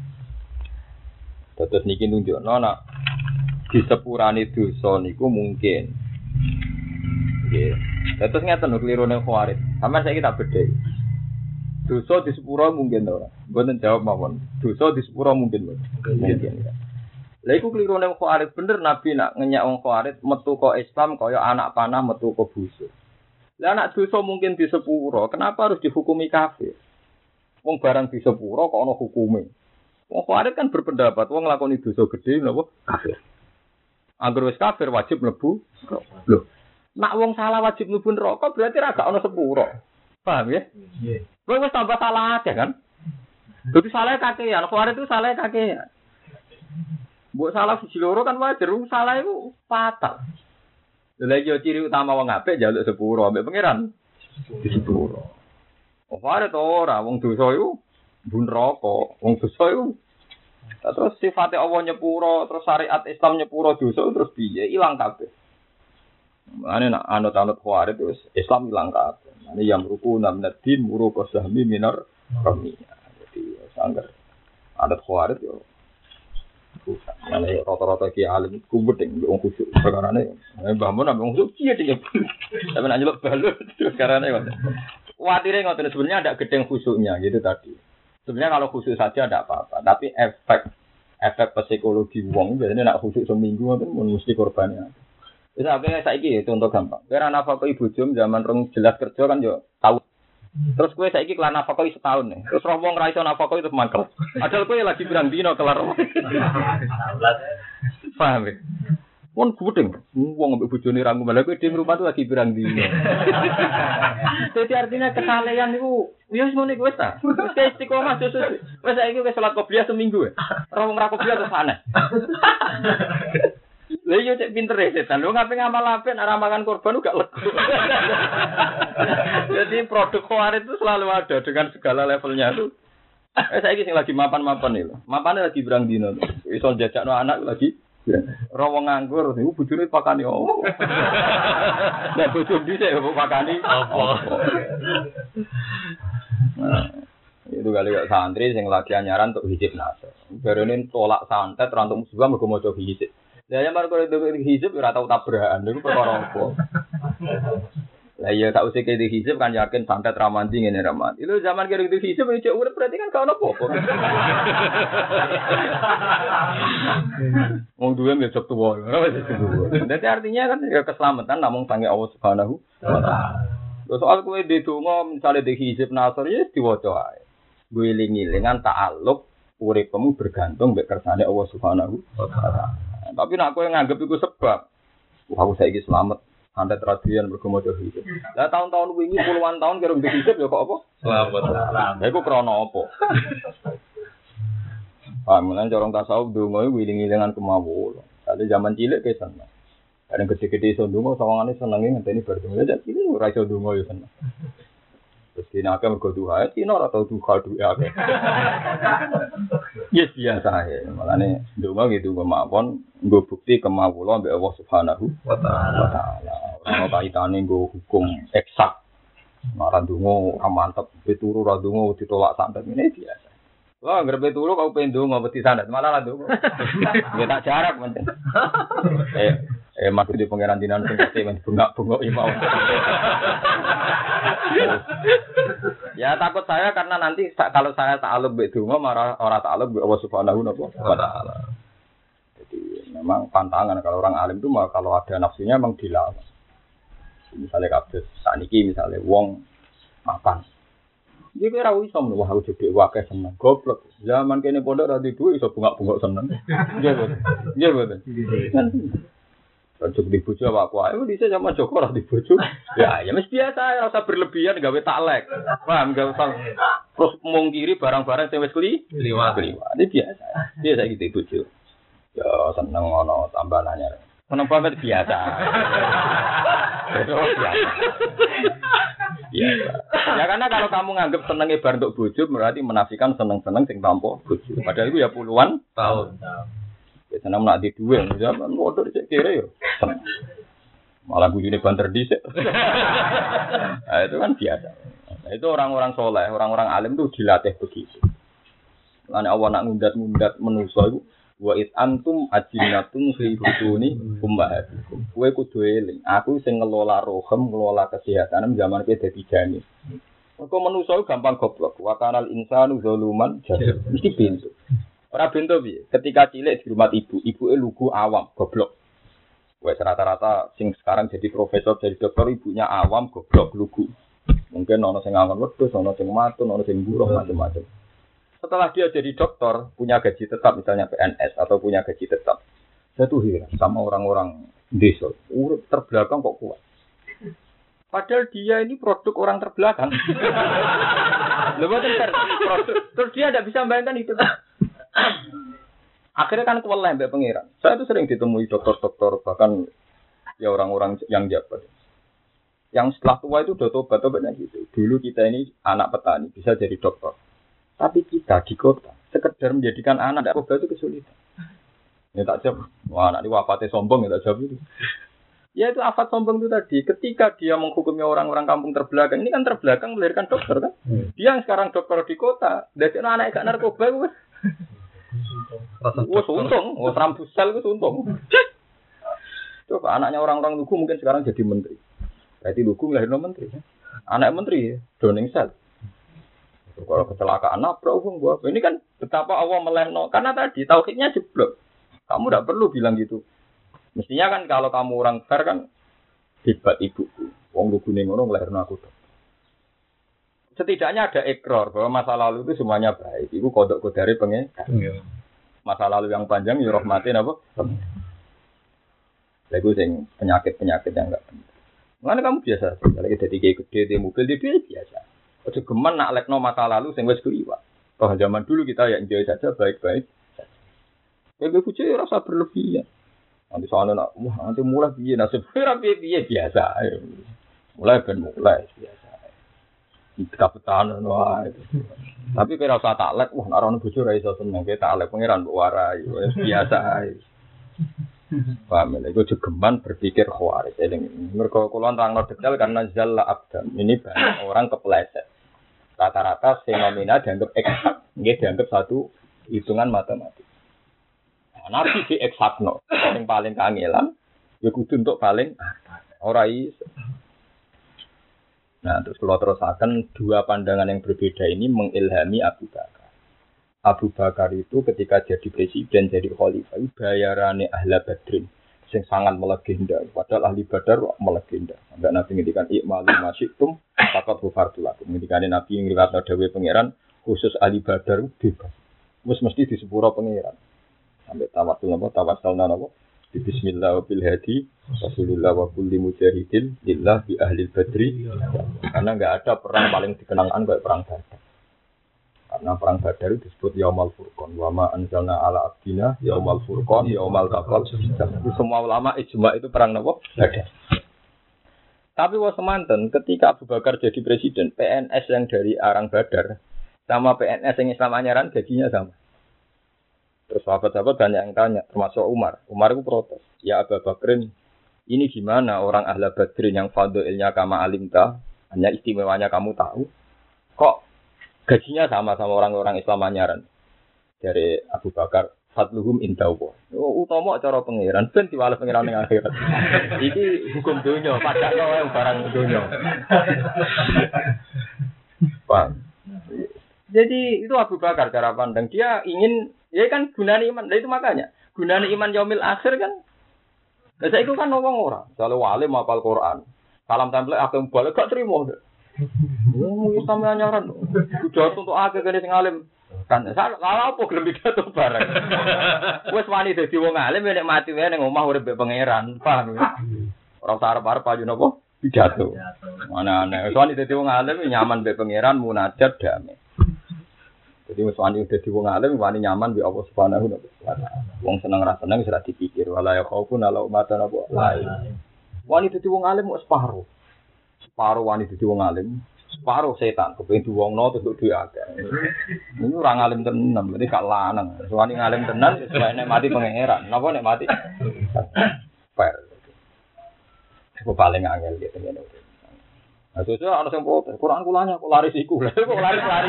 Terus niki nunjukno nek disepurane dosa niku mungkin. Nggih. Terus ngeten lho klirune khawarij. Sampeyan saiki tak bedheki. Dosa di sepuro mungkin ora. Mboten jawab mawon. Dosa di sepuro mungkin mboten. Mungkin. Lha iku klirune wong khawarij bener Nabi nak ngenyak wong khawarij metu kok Islam kaya anak panah metu kok busuk. Lah anak dosa mungkin di sepuro, kenapa harus dihukumi kafir? Wong barang di sepuro kok ana hukume. Wong khawarij kan berpendapat wong nglakoni dosa gedhe napa kafir. Angger wis kafir wajib mlebu. Lho, nak wong salah wajib mlebu neraka berarti ra gak ana sepuro. Paham ya? Nggih. Kowe wis tambah salah aja kan? Dadi salah kakean, khawarij itu salah kakean. Mbok salah siji loro kan wajar, salah itu fatal. Lha iki ciri utama wong apik njaluk sepuro ambek pangeran. Di sepuro. Khawarij to ora wong dosa iku mbun neraka, wong dosa iku terus sifate Allah nyepuro, terus syariat Islam nyepuro dosa terus piye? Ilang kabeh. Ane nak anut-anut khawarij wis Islam ilang kabeh. Ane yang ruku namnadin muru qasahmi minar kami. Jadi sangger adat khawarij yo. Ane rata-rata ki alim kumbedeng wong khusyuk perkarane. Mbah mun ambek wong khusyuk piye iki. Sampe nak nyeluk balur perkarane kok. Kuatire ngoten sebenarnya ada gedeng khusyuknya gitu tadi. Sebenarnya kalau khusyuk saja tidak apa-apa, tapi efek efek psikologi wong biasanya nak khusyuk seminggu itu mesti korbannya. Wis akhirnya saiki contoh gampang. Kira nafkah ibu jom zaman rong jelas kerja kan yo tahu. Terus kowe saiki kelar nafkah setahun nih. Terus roh wong ra iso nafkah itu mangkel. Padahal kowe lagi pirang dino kelar. Paham ya? Wong gudeng, wong ambek bojone ra ngomel kowe di rumah tuh lagi pirang dino. Jadi artinya kesalehan niku ya wis ngene wis ta. Wis istiqomah susu. Wis saiki wis salat qobliyah seminggu ya. Ora wong ra qobliyah terus aneh. Lha yo cek pinter e setan. Lu ngapain ngamal apik ora makan korban gak lega. Jadi produk khawarij itu selalu ada dengan segala levelnya tuh. Eh saiki sing lagi mapan-mapan iki lho. Mapane lagi pirang dino. Iso jajakno anak lagi ora wong nganggur niku bojone pakani opo. Nek bojo dhisik kok pakani opo. Nah, itu kali kok santri sing lagi anyaran untuk hijab nasr. Barene tolak santet ora untuk musibah mergo maca hijab. Lah ya mar kok hijab ora tau tabrakan niku perkara opo. Lah iya tak usah ke hijab kan yakin santet ramanti ngene ramat. Itu zaman kira itu hijab yo urip berarti kan kau apa-apa. Wong duwe besok tuwa. Dadi artinya kan ya keselamatan namung sange Allah Subhanahu wa taala. Soal kowe di donga misale di hijab nasr ya diwaca ae. Kowe eling-elingan ta'alluq uripmu bergantung mek kersane Allah Subhanahu wa taala. Tapi nek kowe nganggep iku sebab wah aku saiki selamat santet tradian bergemo hijab. Lah tahun-tahun wingi puluhan tahun karo ndek hijab ya kok apa? Selamat. Lah iku krana apa? Ah, mulan corong tasawuf donga iku wiling-wilingan kemawon. Dadi zaman cilik ke seneng. Kadang gede-gede iso donga sawangane senenge ngenteni bar donga. Lah cilik ora iso donga ya seneng. Terus dina akeh mergo duha, dina ora tau duha duwe akeh. Yes biasa ae. Malane donga gitu kemawon nggo bukti kemawula mbek Allah Subhanahu wa taala. Ora kaitane nggo hukum eksak. Ora ndonga ora mantep, pituru ora ndonga ditolak santet ngene biasa. Wah, ngrepe turu kau pengen ndonga mesti santet, malah lah ndonga. Ya tak jarak penting. Eh, eh maksud di pangeran dinan sing kate men bengak-bengok imam. Ya takut saya karena nanti kalau saya ta'alluq mbek donga marah ora ta'alluq mbek Allah Subhanahu wa taala. Jadi memang pantangan kalau orang alim itu kalau ada nafsunya memang dilawan. Misalnya kados saniki misalnya wong makan. Iki ora iso men wah jebek wae seneng goblok. Zaman kene pondok ra duwe iso bungak-bungak seneng. Nggih boten. Nggih boten. Cocok di bojo apa aku ae dhisik sama Joko ora di bojo. Ya ya mesti biasa ora usah berlebihan gawe taklek. Paham gak usah terus mungkiri barang-barang sing wis kli liwat. Ini biasa. Biasa iki di bojo. Ya seneng ngono tambah anyar. Seneng banget biasa. biasa. Biasa. Ya karena kalau kamu nganggap seneng ibar untuk bojo berarti menafikan seneng-seneng sing tanpa bojo. Padahal itu ya puluhan tahun. Ya seneng nak di duwe zaman modal cek kere yo. Malah bojone banter dhisik. Nah, itu kan biasa. Nah, itu orang-orang soleh, orang-orang alim tuh dilatih begitu. Lan Allah nak ngundat-ngundat manusa iku wa it antum ajinatun fi huduni ummahatikum. Kowe kudu eling, aku sing ngelola rohem, ngelola kesehatan zaman kowe dadi jani. Kok manusa gampang goblok, wa kanal insanu zaluman jahil. Mesti pintu. Ora pintu piye? Ketika cilik di rumah ibu, ibuke lugu awam, goblok. Wes rata-rata sing sekarang jadi profesor, jadi dokter ibunya awam, goblok, lugu. Mungkin ono sing ngangon wedhus, ono sing matun, ono sing buruh macam-macam. Setelah dia jadi dokter, punya gaji tetap misalnya P N S atau punya gaji tetap. Saya tuh heran sama orang-orang desa, urip terbelakang kok kuat. Padahal dia ini produk orang terbelakang. Lebih ter produk. Terus dia tidak bisa membayangkan itu. Akhirnya kan kewalahan mbak pangeran. Saya tuh sering ditemui dokter-dokter bahkan ya orang-orang yang jabat. Yang setelah tua itu udah tobat-tobatnya gitu. Dulu kita ini anak petani bisa jadi dokter. Tapi kita di kota sekedar menjadikan anak tobat itu kesulitan. Ya tak jawab. Wah anak ini wafatnya sombong ya tak jawab itu. Ya itu afat sombong itu tadi. Ketika dia menghukumi orang-orang kampung terbelakang. Ini kan terbelakang melahirkan dokter kan. Dia yang sekarang dokter di kota. Dari anak gak narkoba itu. Wah untung. Wah rambusel itu untung. Coba anaknya orang-orang lugu mungkin sekarang jadi menteri. Berarti lugu melahirkan menteri. Anak menteri ya. Downing Cell. Kalau kecelakaan nabrak wong gua. Ini kan betapa Allah melehno. Karena tadi tauhidnya jeblok. Kamu tidak perlu bilang gitu. Mestinya kan kalau kamu orang fair kan hebat ibuku. Wong lugune ngono nglahirno aku. Setidaknya ada ikrar bahwa masa lalu itu semuanya baik. Iku kodok kodare pengen. Masa lalu yang panjang ya rahmatin apa? Lagu sing penyakit-penyakit yang enggak penting. Mana kamu biasa, lagi jadi kayak gede di mobil di biasa. Ojo geman nak lekno masa lalu sing wis kuliwat. Toh zaman dulu kita ya enjoy saja baik-baik. Kayak gue ya rasa berlebihan. Nanti soalnya nak, wah nanti mulai piye nasib ora piye biasa. Mulai ben mulai biasa. Kita petan wah. Tapi kira rasa taklek, wah nak ono bojo ra iso seneng ke taklek pangeran mbok warai biasa ae. Paham ya, itu jegeman berpikir khawarij. Mereka kulon terang detail karena zalla abdan. Ini banyak orang kepleset. Rata-rata fenomena dianggap eksak, nggih dianggap satu hitungan matematik. Nah, nabi di eksakno, yang paling kangelan, ya kudu untuk paling ora iso. Nah, terus kalau terusakan dua pandangan yang berbeda ini mengilhami Abu Bakar. Abu Bakar itu ketika jadi presiden, jadi khalifah, bayarane ahla badrin, yang sangat melegenda. Padahal ahli badar melegenda. Sampai Nabi ngendikan ikmalu masyitum, fakat hufartulakum. Ngendikan Nabi yang riwayat dawe pangeran, khusus ahli badar bebas. Mus mesti di sepura pangeran. Sampai tawasul nama, tawasul nama, di bismillah wa bil hadi, rasulullah wa kulli mujahidin, lillah bi ahli badri. Karena enggak ada perang paling dikenangkan kayak perang badar. Karena perang Badar itu disebut Yaumal Furqan. Wa ma anzalna ala abdina Yaumal Furqan, Yaumal Taqal. Semua ulama ijma itu perang apa? Badar. Tapi wa semanten ketika Abu Bakar jadi presiden, P N S yang dari Arang Badar sama P N S yang Islam Anyaran gajinya sama. Terus sahabat-sahabat banyak yang tanya, termasuk Umar. Umar itu protes. Ya Abu Bakrin, ini gimana orang ahla Badrin yang fadilnya kama alimta, hanya istimewanya kamu tahu, kok gajinya sama sama orang-orang Islam Anyaran. Dari Abu Bakar, fadluhum indallah. Oh, utama cara pangeran ben diwales pangeran ning akhirat. Iki hukum dunya, padakno wae barang dunya. Paham? Jadi itu Abu Bakar cara pandang. Dia ingin, ya kan gunane iman. Nah, itu makanya gunane iman yaumil akhir kan. Lah saiki kan wong ora, kalau wali hafal Quran. Salam template akeh balik gak trimo. Oh, Islam Anyaran. Sudah untuk akeh kene sing alim. Kan salah apa gelem pidato bareng. Wis wani dadi wong alim nek mati wae ning omah urip mbek pangeran, paham ya? Ora usah arep-arep ayo napa pidato. Mana-ana wis wani dadi wong alim nyaman mbek pangeran munajat damai. Jadi wis wani dadi wong alim wani nyaman mbek Allah Subhanahu wa taala. Wong seneng ra seneng wis ra dipikir wala ya khaufun ala umatan apa lain. Wani dadi wong alim wis separo. Separo wani dadi wong alim. Separuh setan, kepengen diwongno terus duwe akeh. Ini ora ngalim tenan, berarti gak lanang. Soale ngalim tenan sesuai nek mati pangeran. Napa nek mati? Fair. Aku paling angel gitu ngene. Nah, sesuk ana sing protes, Quran kulanya kok laris iku. Lha kok laris-lari.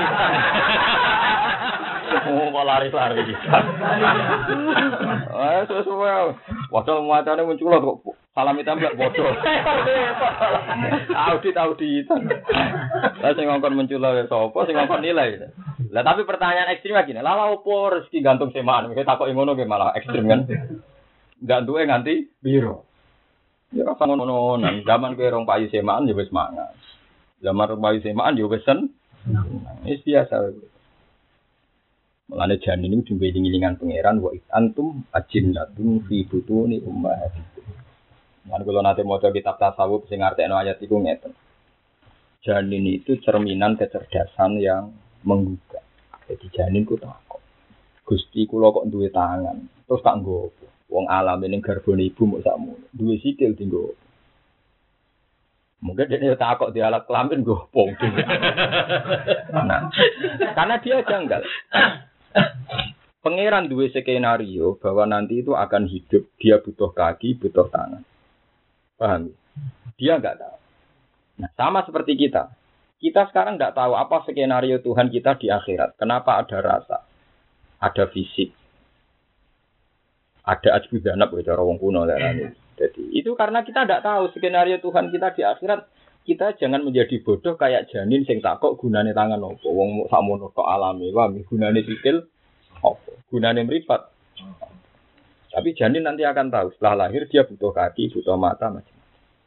Oh, kok laris-lari. Ah, sesuk padahal muatane muncul kok salami template bodoh. Audit-audit. Lah sing ngongkon muncul sapa sing ngongkon nilai. Lah tapi pertanyaan ekstrim lagi. Lah opo rezeki gantung semaan. Kita takoki ngono ge malah ekstrim kan. Ndak duwe nganti piro. Ya rasa ngono nang zaman kowe rong payu semaan ya wis mangan. Zaman rong payu semaan ya wis sen. Wis biasa. Mulane janin ini diweling-welingan pangeran wa antum ajinnatun fi butuni ummahatikum. Lan kula nate maca kitab tasawuf sing ngartekno ayat iku ngeten. Janin itu cerminan kecerdasan yang menggugah. Jadi janin ku takok. Gusti kula kok duwe tangan, terus tak nggo apa? Wong alam ning garbone ibu mok sakmu. Duwe sikil dienggo. Mungkin dia takok di alat kelamin nggo apa? Nah, karena dia janggal. Pangeran duwe skenario bahwa nanti itu akan hidup, dia butuh kaki, butuh tangan. Paham? Dia enggak tahu. Nah, sama seperti kita. Kita sekarang enggak tahu apa skenario Tuhan kita di akhirat. Kenapa ada rasa? Ada fisik. Ada ajbu zanab cara wong kuno larane. Jadi, itu karena kita enggak tahu skenario Tuhan kita di akhirat kita jangan menjadi bodoh kayak janin sing tak kok gunane tangan opo. Wong sakmono tok alami, wah gunane sikil opo. Gunane mripat. Tapi janin nanti akan tahu setelah lahir dia butuh kaki, butuh mata macam.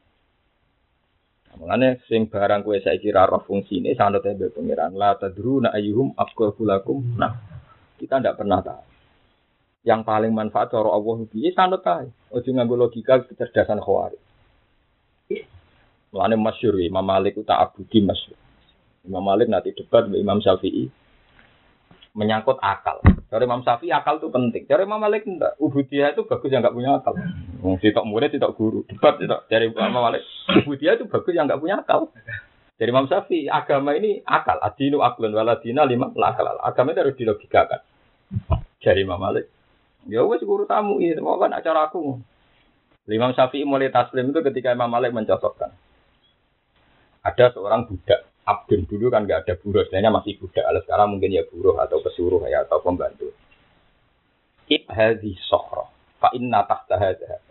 Mulane sing barang kowe saiki ra roh fungsine sanut tembe pengiran la tadruna ayyuhum aqrabu lakum. Nah, kita ndak pernah tahu. Yang paling manfaat cara Allah piye sanut ae. Ojo nganggo logika kecerdasan khawarij. Mulane masyhur Imam Malik ku tak abudi masyhur. Imam Malik nanti debat dengan Imam Syafi'i menyangkut akal. Dari Imam Syafi'i akal itu penting. Dari Imam Malik enggak. Ubudiyah itu bagus yang enggak punya akal. Wong sitok murid sitok guru. Debat sitok dari Imam Malik. Ubudiyah itu bagus yang enggak punya akal. Dari Imam Syafi'i agama ini akal. Adinu aklun waladina lima akal. Agama itu harus dilogikakan. Dari Imam Malik. Ya wes guru tamu ini, mau kan acara aku. Imam Syafi'i mulai taslim itu ketika Imam Malik mencocokkan. Ada seorang budak, abdun dulu kan nggak ada buruh, sebenarnya masih budak. Kalau sekarang mungkin ya buruh atau pesuruh ya atau pembantu. Ibhadhi sohro, fa inna tahta hadha.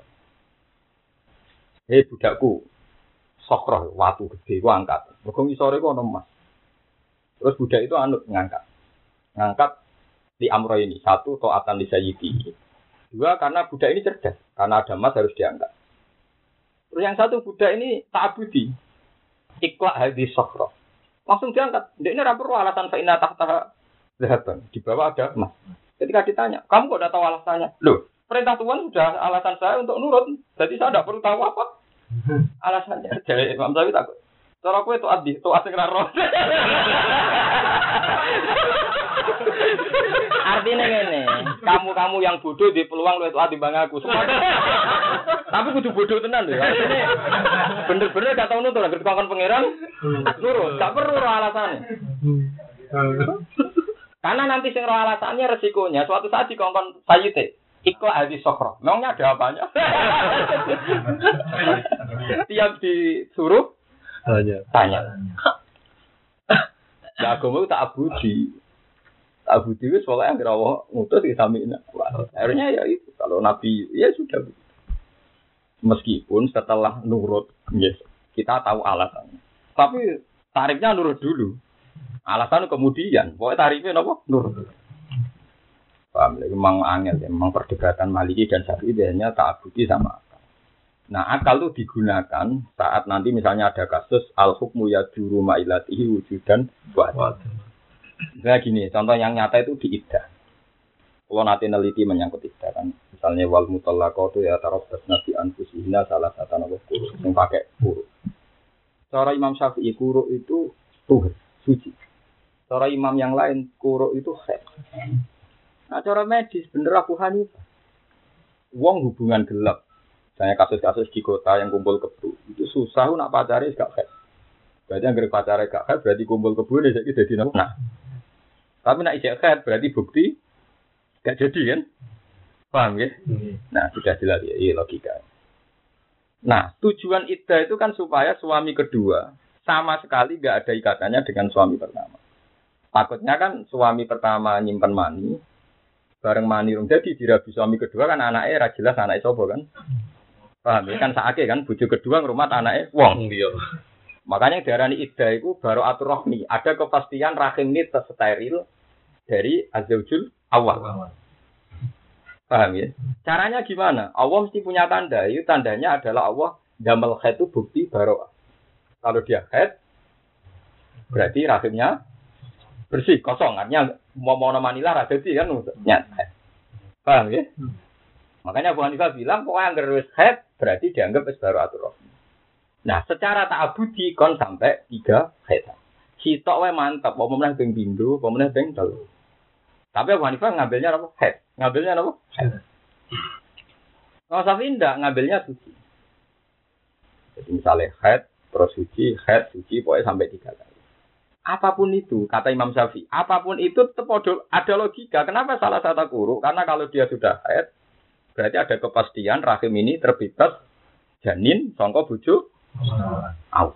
Hei budakku, sohro, watu gede, gua angkat. Berkong sore gua emas. Terus budak itu anut ngangkat, ngangkat di amro ini. Satu, to'atan li sayyidi. Dua, karena budak ini cerdas. Karena ada emas harus diangkat. Terus yang satu, budak ini ta'abudi. Ikhlas hadis sokro. Langsung diangkat. Dia ini rapor alasan fa'inna tahta zahaban. Di bawah ada emas. Ketika ditanya, kamu kok udah tahu alasannya? Loh, perintah Tuhan sudah alasan saya untuk nurut. Jadi saya tidak perlu tahu apa alasannya. Jadi Imam Syafi'i takut. Cara aku itu adi, itu asing raro. Artinya ngene, kamu-kamu yang bodoh di peluang lu itu adi bang aku. Semua. Tapi kudu bodoh tenan lho. Artinya bener-bener gak tau nutur, anggere kongkon pangeran nurut, gak perlu roh alasannya. Karena nanti sing roh alasannya resikonya suatu saat dikongkon sayyite. Iko hadis sokro. Memangnya ada apanya? Tiap disuruh tanya. Tanya. Ya agama tak abudi. Tak abudi itu soalnya yang Allah ngutus di samina. Akhirnya ya itu. Kalau Nabi, ya sudah. Meskipun setelah nurut, yes, kita tahu alasannya. Tapi tarifnya nurut dulu. Alasan kemudian. Pokoknya tarifnya apa? Nurut. Paham? Memang angel. Memang perdebatan Maliki dan Syafi'i hanya tak abudi sama akal. Nah, akal itu digunakan saat nanti misalnya ada kasus al-hukmu yaduru ma'ilatihi wujudan buat. Misalnya gini, contoh yang nyata itu di iddah. Kalau nanti neliti menyangkut iddah kan, misalnya wal mutallaqatu ya tarabbasna bi anfusihina salah satu nama kuru, yang pakai kuru. Cara Imam Syafi'i kuru itu tuhur, suci. Cara imam yang lain kuru itu haid. Nah, cara medis bener Abu Hanifah. Wong hubungan gelap. Misalnya kasus-kasus di kota yang kumpul kebu, itu susah nak pacare gak haid. Berarti yang gak pacare gak haid berarti kumpul kebu ini jadi jadi nah. Tapi nak ijek haid berarti bukti gak jadi kan? Paham ya? Hmm. Nah, sudah jelas ya, iya logika. Nah, tujuan iddah itu kan supaya suami kedua sama sekali gak ada ikatannya dengan suami pertama. Takutnya kan suami pertama nyimpen mani, bareng mani rung jadi dirabi suami kedua kan anaknya ra jelas anaknya sapa kan? Paham ya? Kan saake kan bojo kedua ngrumat anaknya wong. Iya. Makanya diarani iddah itu baru atur rohmi, ada kepastian rahim ini tersteril dari azzaujul awal. Paham ya? Caranya gimana? Allah mesti punya tanda. Itu tandanya adalah Allah damel haid itu bukti baro'ah. Kalau dia haid, berarti rahimnya bersih, kosong. Artinya mau mau manila radati kan nyat haid. Paham ya? Makanya Abu Hanifah bilang, pokoknya yang gerus haid, berarti dianggap es baro'atul rahim. Nah, secara ta'abudi kon sampai tiga haid. Sitok wae mantap, mau meneh ping pindho, mau meneh ping telu. Tapi Abu Hanifah ngambilnya apa? Haid. Ngambilnya apa? Haid. Kalau Syafi'i enggak, ngambilnya suci. Jadi misalnya haid, terus suci, haid, suci, pokoknya sampai tiga kali. Apapun itu, kata Imam Syafi'i, apapun itu tetap ada logika. Kenapa salah satu guru? Karena kalau dia sudah haid, berarti ada kepastian rahim ini terbebas janin, sangka bojo Allah.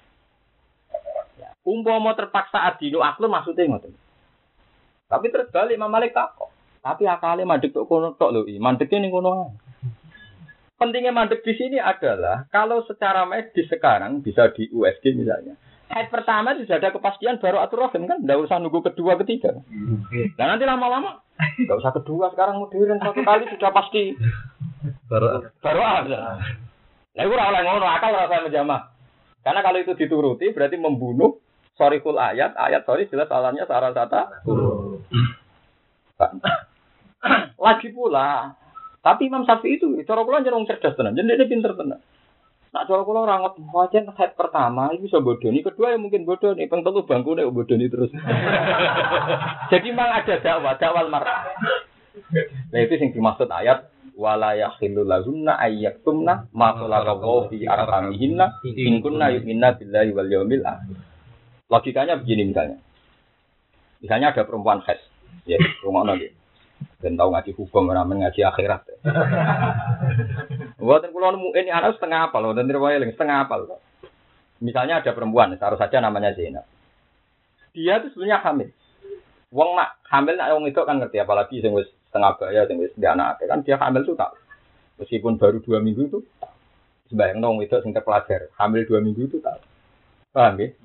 Ya. Umpama terpaksa adinu aklun maksudnya ngoten. Tapi terus balik Imam Malik takok. Tapi akale mandek tok kono tok lho, mandeke ning kono. Pentingnya mandek di sini adalah kalau secara medis sekarang bisa di U S G misalnya. Haid pertama sudah ada kepastian baru atur rahim kan, tidak usah nunggu kedua ketiga. Dan nanti lama-lama nggak usah kedua sekarang modern satu kali sudah pasti baru baru ada. Nah itu orang ngono akal rasa menjamah. Karena kalau itu dituruti berarti membunuh sorikul ayat ayat sorry jelas salahnya sarah sata. Lagi pula. Tapi Imam Syafi'i itu, cara kula jeneng cerdas tenan, jadi dia pinter tenan. Nak cara kula ora ngot wajan head pertama itu bisa bodoni, kedua ya mungkin bodoni, ping telu bangkune bodoni terus. Jadi memang ada dakwah, dakwal mar'ah. Nah itu yang dimaksud ayat wala yakhillu lahunna ayyaktumna ma khalaqallahu fi arhamihinna in kunna yu'minna billahi wal yawmil akhir. Logikanya begini misalnya. Misalnya ada perempuan haid, ya, rumahna gitu. Dan tahu ngaji hukum, ramen ngaji akhirat. Buatan kulo nemu ini anak setengah apal, dan terwayang setengah apal. Misalnya ada perempuan, taruh saja namanya Zainab. Dia itu sebenarnya hamil. Wong nak hamil nak wong itu kan ngerti, apalagi sing wis setengah baya, sing wis dia anak kan dia hamil tuh tak. Meskipun baru dua minggu itu, sebayang wong itu sing terpelajar, hamil dua minggu itu tak. Paham ya?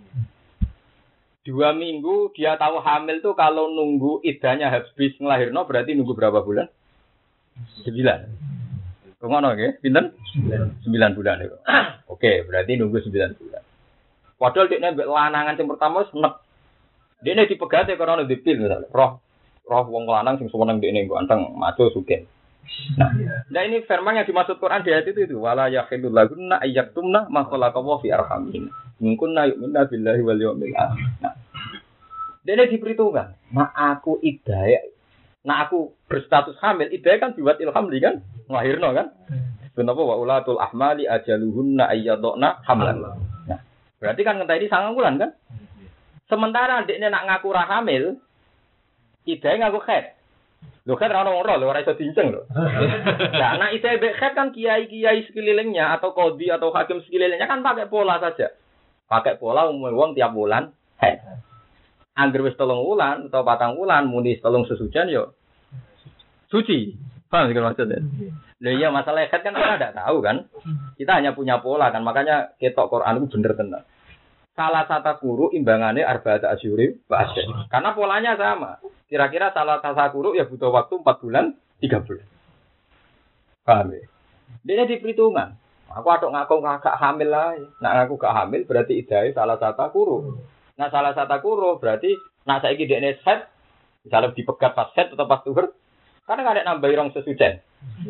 Dua minggu dia tahu hamil tuh kalau nunggu iddahnya habis ngelahirno berarti nunggu berapa bulan? Sembilan. Kemana ya? Pinten? Sembilan bulan itu. Oke, berarti nunggu sembilan bulan. Padahal dia nembek lanangan yang pertama senek. Dia ini dipegati karena ada dipil misalnya. Roh, roh wong lanang sing sewenang dia ini ganteng, maco sugen. Nah, nah ini firman yang dimaksud Quran di ayat itu itu wala yakhilul lagunna ayyaktumna ma khalaqallahu fi arhamihin. Mungkin na yu'minna billahi wal yawmil akhir. Nah, dia diperhitungkan. Nah aku idaya, nah aku berstatus hamil, idaya kan dibuat ilham kan, ngelahirno kan. Kenapa wa ulatul ahmali ajaluhunna ayyadna hamlan. Nah, berarti kan ngenteni sangang bulan kan. Sementara dia nak ngaku ra hamil, idaya ngaku haid. Lho kan ora ono lho ora iso diinceng lho. Nah, anak idaya haid kan kiai-kiai sekelilingnya atau qadhi atau hakim sekelilingnya kan pakai pola saja. Pakai pola umum wong tiap bulan haid. Angger wis telung wulan atau patang wulan muni telung sesucian yo suci. Paham sih maksudnya? Lah iya masalah haid kan kita enggak tahu kan. Kita hanya punya pola kan makanya ketok Quran itu bener tenan. Salah satu guru imbangannya arba'ata asyuri bahasa. Karena polanya sama. Kira-kira salah satu guru ya butuh waktu empat bulan, tiga bulan. Paham ya? Dia diperhitungan. Aku aduk ngaku gak hamil lah. Nak ngaku gak hamil berarti idai salah satu guru. Nah salah satu guru berarti nak saiki dekne haid, misalnya dipegat pas haid atau pas tuhur, karena kan ada nambah rong sesucen.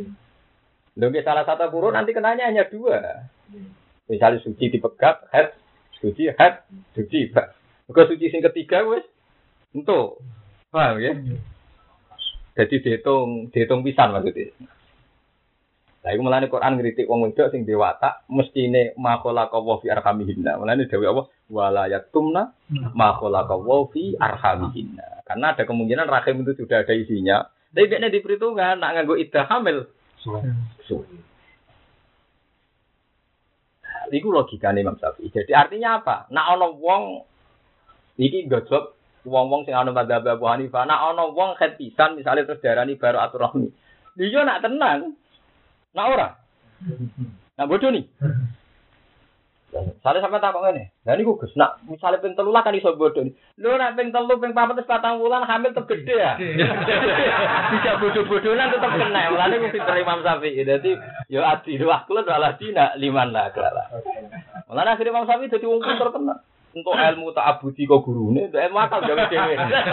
Lho salah satu guru nanti kenanya hanya dua. Misalnya suci dipegat, haid, suci, haid, suci. Maka suci sing ketiga wis entuk. Paham ya? Jadi dihitung, dihitung pisan maksudnya. Lah iku mulane Quran ngritik wong wedok sing dewata mestine ma khalaqallahu fi arhamihinna. Mulane dawuh Allah wala yaktumna ma khalaqallahu fi arhamihinna. Karena ada kemungkinan rahim itu sudah ada isinya. Tapi nek diperhitungkan nak nganggo iddah hamil. Suwe. Iku logikane Imam Syafi'i. Jadi artinya apa? Nak ana wong iki gojlok wong-wong sing ana madzhab Abu Hanifah, nak ana wong khet pisan misale terus darani baru atur rahmi. Lha nak tenang. Nak ora? Nak bodoh nih. Sale sampe takok ngene. Lah niku Gus, nak misale ping telu lah kan iso bodoh nih. Lho nak ping telu ping papat wis patang wulan hamil tetep gede ya. Bisa bodoh-bodohan tetep kena. Mulane ku pinter Imam Syafi'i. Dadi yo adi wah kula ora dina liman lah kala. Mulane akhire Imam Syafi'i dadi wong pinter tenan. Untuk ilmu ta'abudi kok gurune, untuk ilmu akal gawe dhewe.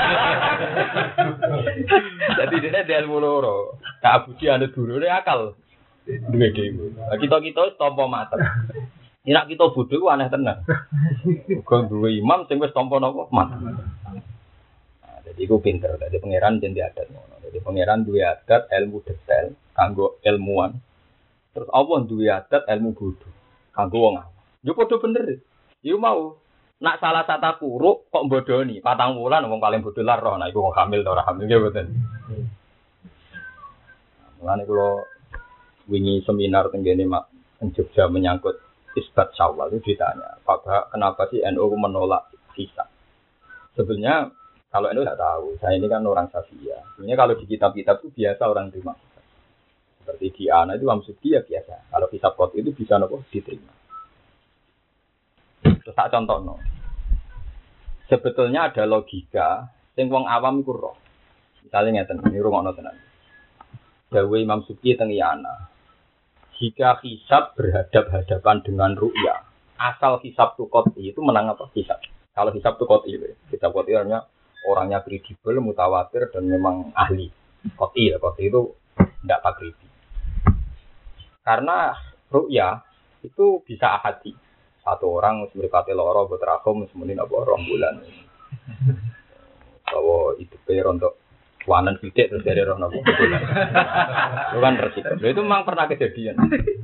Jadi dene ilmu loro. Ta'abudi anu gurune akal. Duwe dhewe. Kita-kita tampa mater. Nek kita bodho ku aneh tenan. Kok duwe imam sing wis tampa napa mater. Nah, dadi iku pinter, dadi pangeran jenenge adat ngono. Dadi pangeran duwe adat ilmu detail kanggo ilmuwan. Terus Allah duwe adat ilmu bodho kanggo wong awam. Yo padha bener. Yo mau nak salah satu kuruk kok bodoni patang wulan wong paling bodho lah roh. Nah iku wong hamil ta ora hamil ya mboten. Mulane kula wingi seminar teng kene Mak Jogja menyangkut isbat Syawal itu ditanya, Pak, kenapa sih N U menolak hisab? Sebenarnya kalau N U tidak tahu, saya ini kan orang Syafi'iyah. Sebenarnya kalau di kitab-kitab itu biasa orang terima hisab. Seperti di ana itu Imam Subki ya biasa. Kalau hisab qat'i itu bisa nopo diterima. Terus tak contohno. Sebetulnya ada logika sing wong awam iku roh. Misale ngeten, ini rungokno tenan. Dawuh Imam Subki teng ana. Jika hisab berhadap-hadapan dengan ru'ya, asal hisab tu qat'i itu menang apa hisab. Kalau hisab tu qat'i, hisab qat'i artinya orangnya kredibel, mutawatir dan memang ahli. Qat'i ya, qat'i itu tidak takribi. Karena ru'ya itu bisa ahadi. Satu orang mripate lara mbok terakhum semenit apa rong bulan. Bahwa itu per untuk wanan sidik terus dari roh nopo bulan. Itu kan resiko. Itu memang pernah kejadian.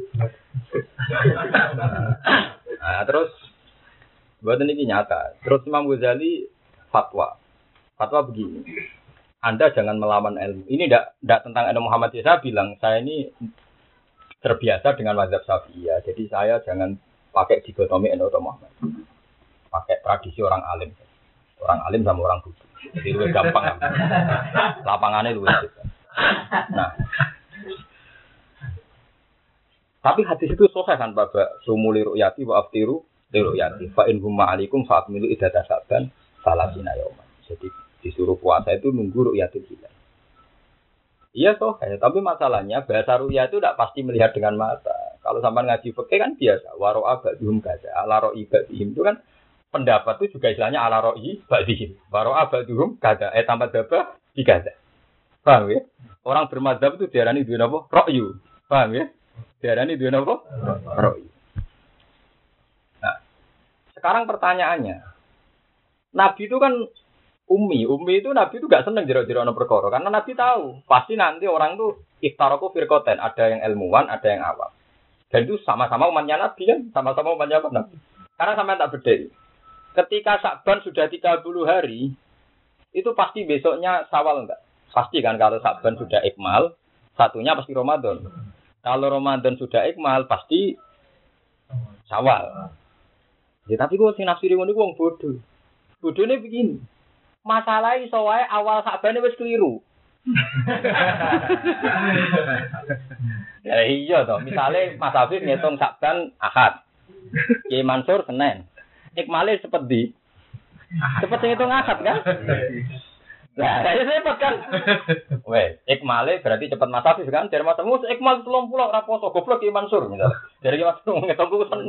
Nah, terus buat ini nyata. Terus Imam Ghazali fatwa. Fatwa begini. Anda jangan melawan ilmu. Ini tidak tidak tentang ilmu Muhammad. Saya bilang saya ini terbiasa dengan mazhab Syafi'iyah. Jadi saya jangan pakai dikotomi N U atau Muhammad. Pakai tradisi orang alim. Orang alim sama orang bodoh. Jadi lebih gampang. Lapangannya lebih cepat. Nah. Tapi hadis itu sahih kan Bapak. Sumuli ru'yati wa aftiru li ru'yati. Fa in humma alaikum fa'atmilu iddata saban salasina yauman. Jadi disuruh puasa itu nunggu ru'yatul hilal. Iya toh, tapi masalahnya bahasa ru'ya itu tidak pasti melihat dengan mata. Kalau sampai ngaji fikih kan biasa, waro'a ba'dhum kaza, ala ro'i ba'dhim itu kan pendapat itu juga istilahnya ala ro'i ba'dhim. Waro'a ba'dhum kaza, eh tambah dabah di kaza. Paham ya? Orang bermadzhab itu diarani duwe napa? Ra'yu. Paham ya? Diarani duwe napa? Ra'yu. Nah, sekarang pertanyaannya, Nabi itu kan Umi, umi itu Nabi itu gak seneng jero-jero ana perkara karena Nabi tahu pasti nanti orang tuh iftaraku firqaten, ada yang ilmuwan, ada yang awam. Dan itu sama-sama umatnya Nabi kan, sama-sama umatnya apa Nabi. Karena sama tak beda. Ketika Sya'ban sudah tiga puluh hari, itu pasti besoknya Syawal enggak? Pasti kan kalau Sya'ban sudah ikmal, satunya pasti Ramadan. Kalau Ramadan sudah ikmal pasti Syawal. Ya tapi kok sing nafsiri ngono ku wong bodoh. Bodohne begini. Masalah iso wae awal Sa'ban wis keliru. Ya iya toh, misale Mas Afif ngitung Sa'ban Ahad. Ki Mansur Senin. Ikmale cepet di. Cepet ngitung Ahad kan? Lah, ya cepet kan. Wes, ikmale berarti cepet Mas Afif kan? Dari Mas Mus ikmal tiga puluh ora poso, goblok Ki Mansur misal. Dari Ki Mansur ngitung ku Senin.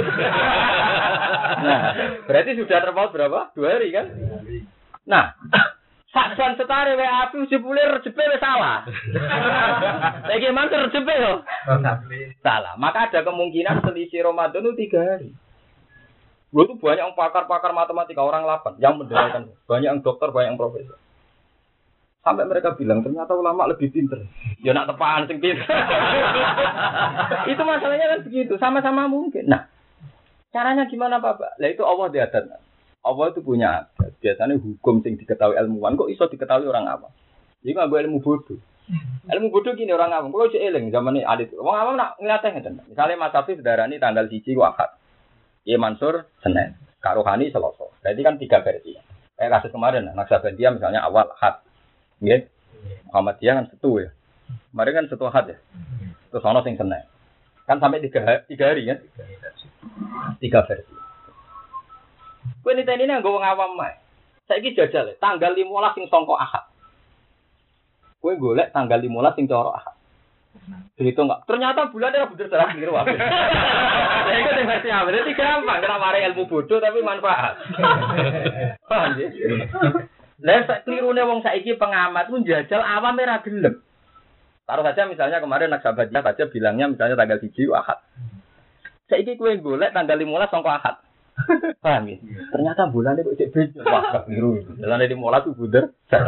Nah, berarti sudah terpaut berapa? Dua hari kan? Nah, Sa'ban setare wae api jebule rejepe wis salah. Saiki mantur rejepe yo. Salah. Maka ada kemungkinan selisih Ramadan itu tiga hari. Gue tuh banyak yang pakar-pakar matematika orang delapan yang mendengarkan, banyak yang dokter, banyak yang profesor. Sampai mereka bilang ternyata ulama lebih pinter. Ya nak tepaan sing pinter. Itu masalahnya kan begitu, sama-sama mungkin. Nah, caranya gimana Bapak? Lah itu Allah diadat. Allah itu punya adat. Biasanya hukum yang diketahui ilmuwan kok iso diketahui orang awam. Jadi nggak gue ilmu bodoh. Ilmu bodoh gini orang awam. Kalau cek eling zaman ini alit. Orang awam nak ngeliatnya ngeten. Misalnya Mas Hafiz darani tanggal siji Ahad. Ye Mansur Senin. Kak Rohani Selasa. Berarti kan tiga versi. Kayak kasus kemarin. Naksabandia misalnya awal Ahad. Nggih. Muhammadiyah kan setu ya. Kemarin kan setu Ahad ya. Terus ono sing Senin. Kan sampai tiga, tiga hari kan? Tiga versi. Kowe niteni nang nggo wong awam mae. Saiki jajal tanggal lima belas sing sangka Ahad. Kowe golek tanggal lima belas sing cara Ahad. Dihitung enggak? Ternyata bulannya ora bener salah keliru wae. Lah iku sing versi apa? Dadi gampang kena mari ilmu bodoh tapi manfaat. Paham ya? Lah sak klirune wong saiki pengamat ku njajal awam ora gelem. Taruh saja misalnya kemarin Naksabandia saja bilangnya misalnya tanggal siji Ahad. Saiki kowe golek tanggal lima belas sangka Ahad. Paham ya? Ternyata bulannya kok cek beda. Wah, biru. Jalan di mola tuh buder.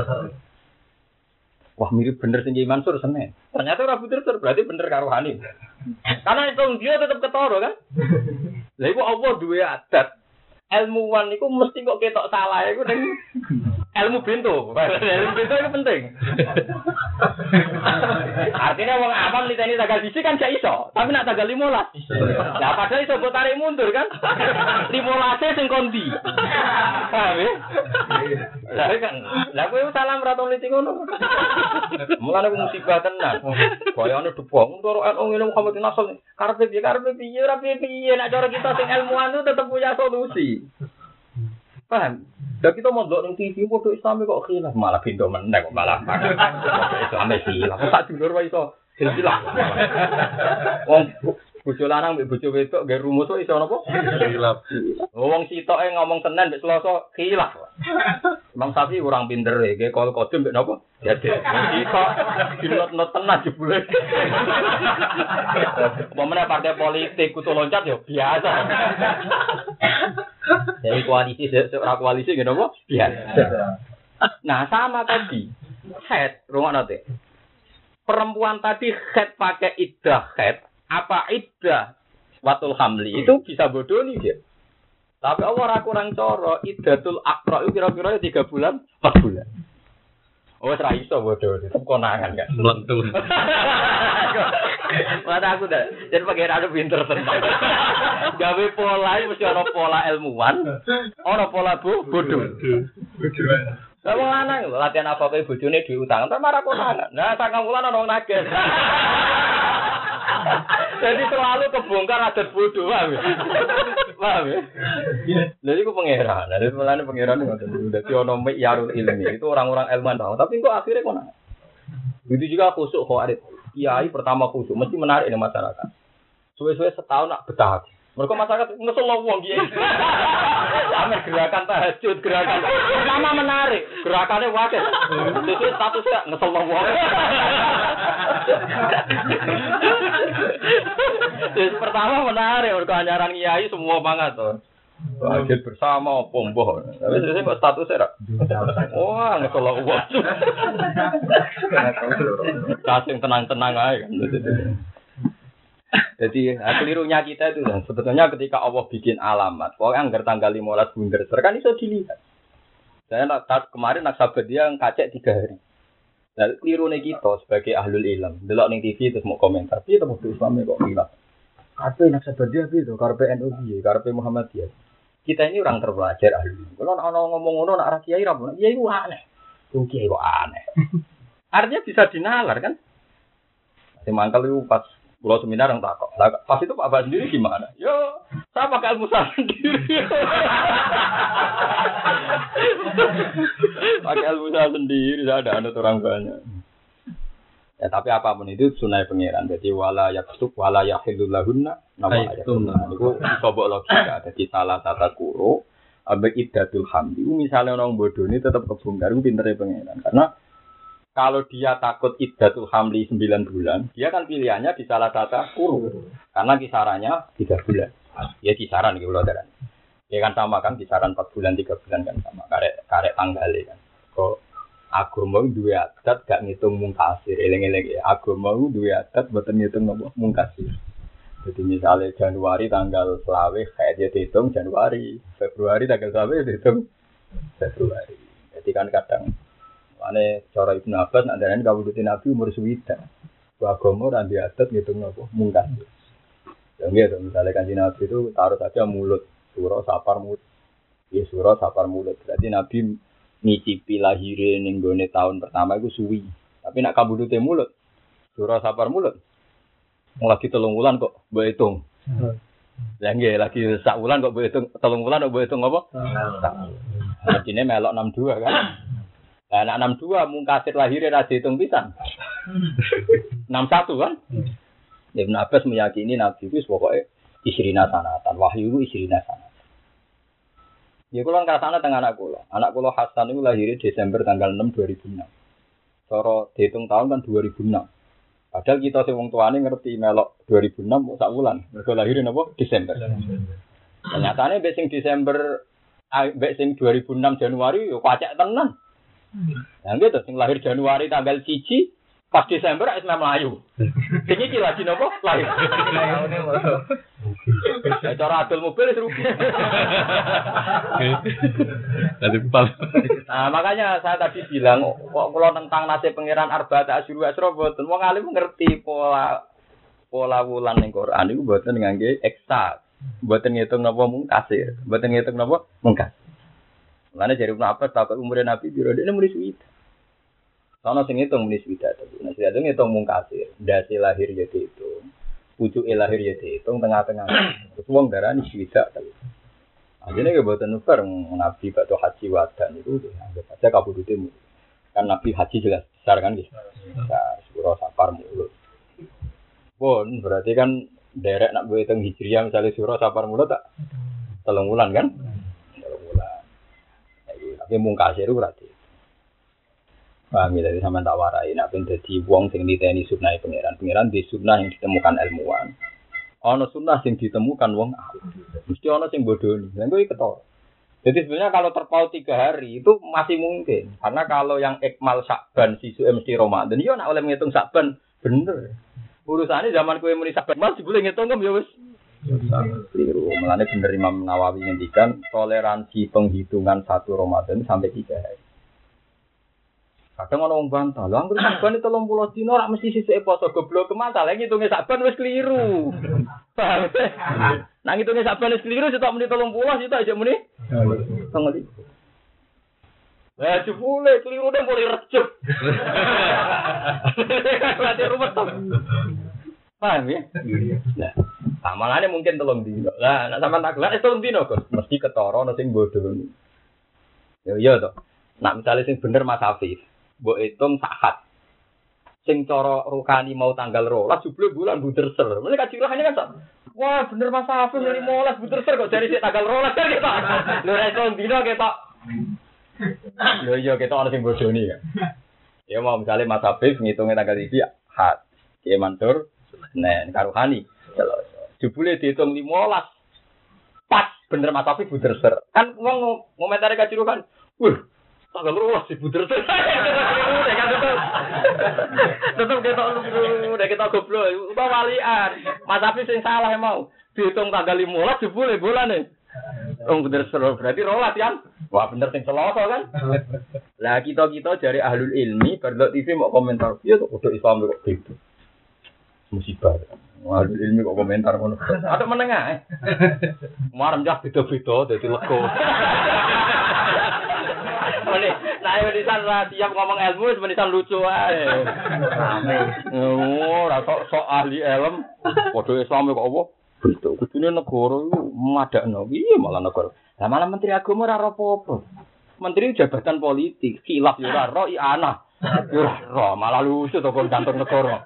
Wah, mirip bener sing Mansur Senin. Ternyata ora buder berarti bener karo Hani. Karena itu dia tetap ketara kan? Lah iku Allah duwe adat. Ilmuwan iku mesti kok ketok salah iku ning ilmu bento. Ilmu bento itu penting. Artinya wong awam niteni tanggal siji kan gak iso, tapi nak tanggal lima belas. Lah padahal iso mbok tarik mundur kan? lima belas sing kondi. Paham ya? Lah kan, lah kowe salam ra tau niti ngono. Mulane ku musibah tenan. Bayane debong karo N U ngene Muhammad Nasr. Karepe piye karepe piye ora piye-piye nek cara kita sing ilmuwan itu tetep punya solusi. Paham? Lah kita mondok ning T V padha Islam kok khilaf malah pintu meneh kok malah. Islam sih, lah kok tak dulur wae iso khilaf. Wong bojo lanang mbek bojo wedok nggih rumus kok iso napa? Khilaf. Wong sitoke ngomong Senin mbek Selasa khilaf. Imam Syafi'i kurang pinter e, nggih kol kodem mbek napa? Dadi wong sitok dinot-not tenan jebule. Pemene partai politik kudu loncat yo biasa. Dari koalisi ora koalisi nggih napa? Biasa. Nah, sama tadi. Head, rumah nanti. Perempuan tadi head pakai iddah head. Apa iddah watul hamli itu bisa bodoh nih dia. Tapi Allah kurang coro iddatul akra itu kira-kira tiga bulan, empat bulan. Oh, serai iso bodoh itu konangan kan. Melentur. Mana aku dah. Jadi pakai rada pinter tenang. Gawe pola mesti ada pola ilmuwan, ada pola bu bodoh. Lah wong lanang latihan apa kae bojone diutang, entar marah konangan. Nah, sakang wulan ana wong nagih. Jadi selalu kebongkar adat bodoh, paham ya? Paham ya? Jadi aku pangeran, dari mulanya pangeran itu udah sionomik yarul ilmi, itu orang-orang ilmuwan tahu, tapi kok akhirnya kok nak? Begitu juga khusuk khawarid, kiai pertama khusuk, mesti menarik di masyarakat. Suwe-suwe setahun nak betah. Mereka masyarakat ngesel wong kiai. Sampai gerakan tahajud, gerakan pertama menarik, gerakannya wakil. Itu statusnya ngesel wong. Jadi pertama menarik, mereka anjaran kiai semua banget tuh. Tahajud bersama, pomboh. Tapi sebenarnya kok statusnya wah ngesel wong. Kasih tenang-tenang aja. Jadi kelirunya kita itu kan sebetulnya ketika Allah bikin alamat, pokoknya anggar tanggal lima belas bunder, kan itu dilihat. Saya nak kemarin nak sahabat dia ngacek tiga hari. Nah kelirunya kita sebagai ahlul ilm, delok ning T V terus mau komentar, tapi tetap Islamnya kok hilang. Apa nak sahabat dia itu, karpe N U dia, karpe Muhammadiyah. Kita ini orang terpelajar ahlul ilm. Kalau nak ngomong ngono nak kiai ra, kiai ku aneh. Tuh kiai kok aneh. Artinya bisa dinalar kan? Si mangkal itu pas pulau seminar yang takut. Pas itu Pak Abah sendiri gimana? Yo, saya pakai ilmu saya sendiri. Pakai ilmu saya sendiri, saya ada anut orang banyak. Ya tapi apapun itu sunai pangeran. Jadi wala yaktub wala yahilul lahunna nama ayat. Itu sobok logika. Jadi salah tata kuro ambek iddatul hamdi. Misalnya orang bodoh ini tetap kebongkar, itu pinternya pangeran. Karena kalau dia takut iddatul hamli sembilan bulan, dia kan pilihannya di salah satu kurung. Karena kisarannya tiga bulan. Ya kisaran gitu loh. Ya kan sama kan kisaran empat bulan, tiga bulan kan sama. Karek karek tanggalnya kan. Kok agama dua adat gak ngitung mungkasir. Eleng-eleng ya. Agama dua adat buatan ngitung apa? Mungkasir. Jadi misalnya Januari tanggal selawe kayak dia dihitung Januari. Februari tanggal selawe dihitung Februari. Jadi kan kadang ane cara Ibnu Abbas nak darani kawulutin Nabi umur swidak. Wa agama ora di adat ngitung napa mungkas. Ya nggih misalnya Kanjeng Nabi itu taruh saja mulut, surah sapar mulut. Ya surah sapar mulut. Berarti Nabi ngicipi lahire ning gone tahun pertama iku suwi. Tapi nak kabudute mulut, surah sapar mulut. Wong lagi telung wulan kok mbok hitung. Ya nggih lagi sak wulan kok mbok hitung, telung wulan kok mbok hitung apa? Jadine melok enam puluh dua kan. Nah, anak enam puluh dua mungkasir lahirnya ra dihitung pisan. enam puluh satu kan? Ibnu Abbas meyakini Nabi itu pokoknya isrina sanatan, wahyu itu isrina sanatan. Ya kula ngrasakno teng anak kula. Anak kula Hasan itu lahirnya Desember tanggal enam dua ribu enam. Cara dihitung tahun kan dua ribu enam. Padahal kita sing wong tuane ngerti melok dua ribu enam sak wulan. Mergo lahirnya napa? Desember. Ternyatane mbek sing Desember mbek sing dua ribu enam Januari yo kacek tenan. Nah gitu, sing lahir Januari tanggal siji, pas Desember es Melayu. Sing iki lagi nopo? Lahir. Ya cara adol mobil rugi. Tadi pal. Nah, makanya saya tadi bilang kok kula tentang nasib pangeran Arba'ata Asyhur Asra mboten wong alim ngerti pola pola wulan ning Quran iku mboten ngangge eksak. Mboten ngitung napa mungkasir, mboten ngitung napa mungkas. Mulane jare Ibnu Abbas takok umure Nabi piro dene muni suwida. Sono sing ngitung muni suwida to. Nek suwida ngitung mung kasir, ndase lahir ya diitung. Pucuke lahir ya diitung tengah-tengah. Terus wong darani suwida to. Ajene ke boten nuker Nabi bakto haji wadan itu anggap aja kabudute mu. Kan Nabi haji jelas besar kan nggih. Besar sura Safar mulut. Pun berarti kan derek nak hitung hijriah misalnya sura Safar mulut tak telung wulan kan? Telung wulan. Tapi mung kasir berarti. Paham ya dari sampean tak warai nek ben dadi wong sing niteni sunah pangeran. Pangeran di sunnah yang ditemukan ilmuwan. Ana sunnah sing ditemukan wong mesti ana sing bodoni. Lha kok ketara. Jadi sebenarnya kalau terpaut tiga hari itu masih mungkin. Karena kalau yang ikmal Sya'ban sisuke mesti Ramadan, yo nek oleh ngitung Sya'ban bener. Urusane zaman kowe muni Sya'ban masih boleh ngitung kan ya wis. Keliru. Mulane bener Imam Nawawi ngendikan toleransi penghitungan satu Ramadan sampai tiga hari. Kadang ana wong bantah, lha anggere Sya'ban telung puluh dina ora mesti sisuke poso goblok masalah ngitunge Sya'ban wis keliru. Paham? Nang ngitunge Sya'ban wis keliru sitok muni telung puluh sitok aja muni. Tengeli. Lah jebule keliru nang boleh recep. Berarti rumet to. Paham ya? Nah, amalane mungkin telung dina. Lah nek sampean tak gelak telung dina kok mesti ketara ana sing bodoni. Ya iya to. Nak misale sing bener Mas Hafif mbok hitung sahat. Sing cara rukani mau tanggal dua belas jebule bulan buderser. Mulane kacirahane kan wah bener Mas Hafif dari lima belas buderser kok dari sik tanggal dua belas kan kita. Lho ra iso dino ketok. Lho iya ketok ana sing bodoni ya. Ya mau misale Mas Hafif ngitunge tanggal iki hat. Ki mantur Senin karuhani. Jebule dihitung lima belas. Pas bener Mas Hafif buderser. Kan wong ngomentare kaciruhan. Wah tanggal dua belas ibu terus. Tetep ketok udah kita goblok. Udah walian. Mas Hafiz sing salah mau. Dihitung tanggal lima belas jebule bulane. Oh bener seru berarti rolas kan. Wah bener sing Selasa kan. Lah kita-kita jari ahlul ilmi berlok T V mau komentar. Iya kok udah Islam kok gitu. Musibah. Ahlul ilmi kok komentar ngono. Ada menengah. Marem jah beda-beda dadi lega. Ini, nah ini menisan lah siap ngomong ilmu, menisan lucu aja. Oh, rasa sok ahli ilmu, waduh Islam kok apa? Betul, kudunya negara itu madakno, iya malah negara. Lah malah Menteri Agama ora apa-apa. Menteri jabatan politik, khilaf yo ora ro, iya ana. Yo ora, malah lucu to kon kantor negara.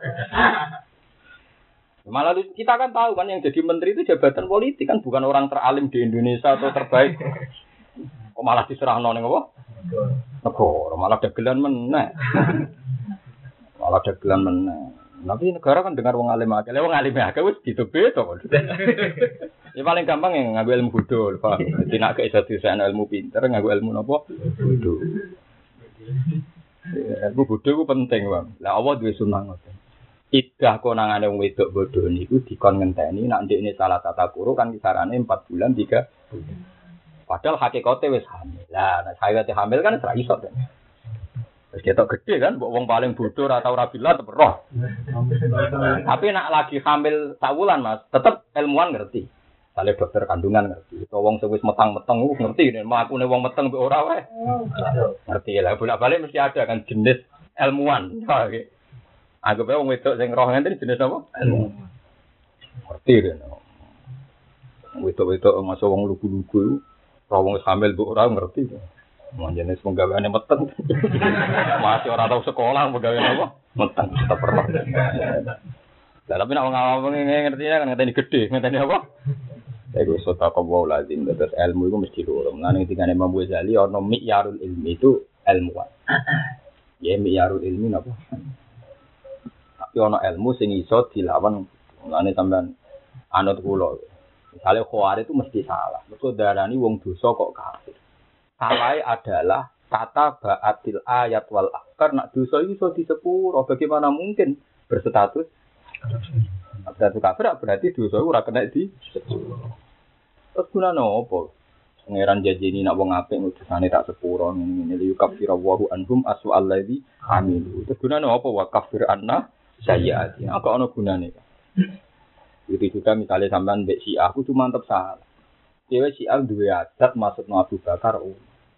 Malah kita kan tahu kan yang jadi menteri itu jabatan politik kan bukan orang teralim di Indonesia atau terbaik. Kok malah diserahno ning apa? Negara malah dagelan meneh. Malah dagelan meneh. Tapi negara kan dengar wong alim akeh. Wong alim akeh wis gitu-gitu kok. Ya paling gampang yang nganggo ilmu bodho, Pak. Dadi nek iso disene ilmu pinter, nganggo ilmu napa? Bodho. Ilmu bodho ku penting, Bang. Lah Allah duwe sunah ngoten. Iddah konangane wong wedok bodho niku dikon ngenteni nek ndekne salah tata kuru kan kisarane empat bulan tiga bulan. Padahal hakikate wis hamil. Lah nek sakit hamil kan ora iso kan. Wis ketok gede kan mbok wong paling bodho ora tau rabilah tetep roh. Tapi nek lagi hamil sak wulan Mas, tetep ilmuwan ngerti. Sale dokter kandungan ngerti. Utawa wong sing wis metang-meteng ku ngerti nek makune wong meteng mbek ora wae. Ngerti lah bolak-balik mesti ada kan jenis ilmuwan. Anggap wong wedok sing roh ngenten jenis apa? Ilmuwan. Ngerti kan. Wedok-wedok masuk wong lugu-lugu ora wong hamil mbek ora ngerti. Manjane penggaweane meteng. Masih ora tau sekolah penggaweane apa? Meteng tetep roh. Lah tapi nek wong awam ngerti kan ngeteni gedhe, ngeteni apa? Iku sotako wa lazim terus ilmu iku mesti loro. Mulane ketika Imam Ghazali ana mi'yarul ilmi itu ilmuwan. Ya mi'yarul ilmi napa? Tapi ana ilmu sing iso dilawan. Mulane sampean anut kula. Misale khawarij itu mesti salah. Mergo darani wong dosa kok kafir. Salahé adalah kata ba'atil ayat wal akar nak dosa iso disepuro. Bagaimana mungkin berstatus berarti kafir berarti dosa ora kena di terus gunane apa pangeran janjini nak wong apik utusane tak sepuro ngene li kafir wa anhum asu allazi amilu terus gunane apa wa kafir anna sayyiati apa ana gunane itu juga misalnya sampean mbek si aku cuma mantep salah dhewe si aku duwe adat maksudno Abu Bakar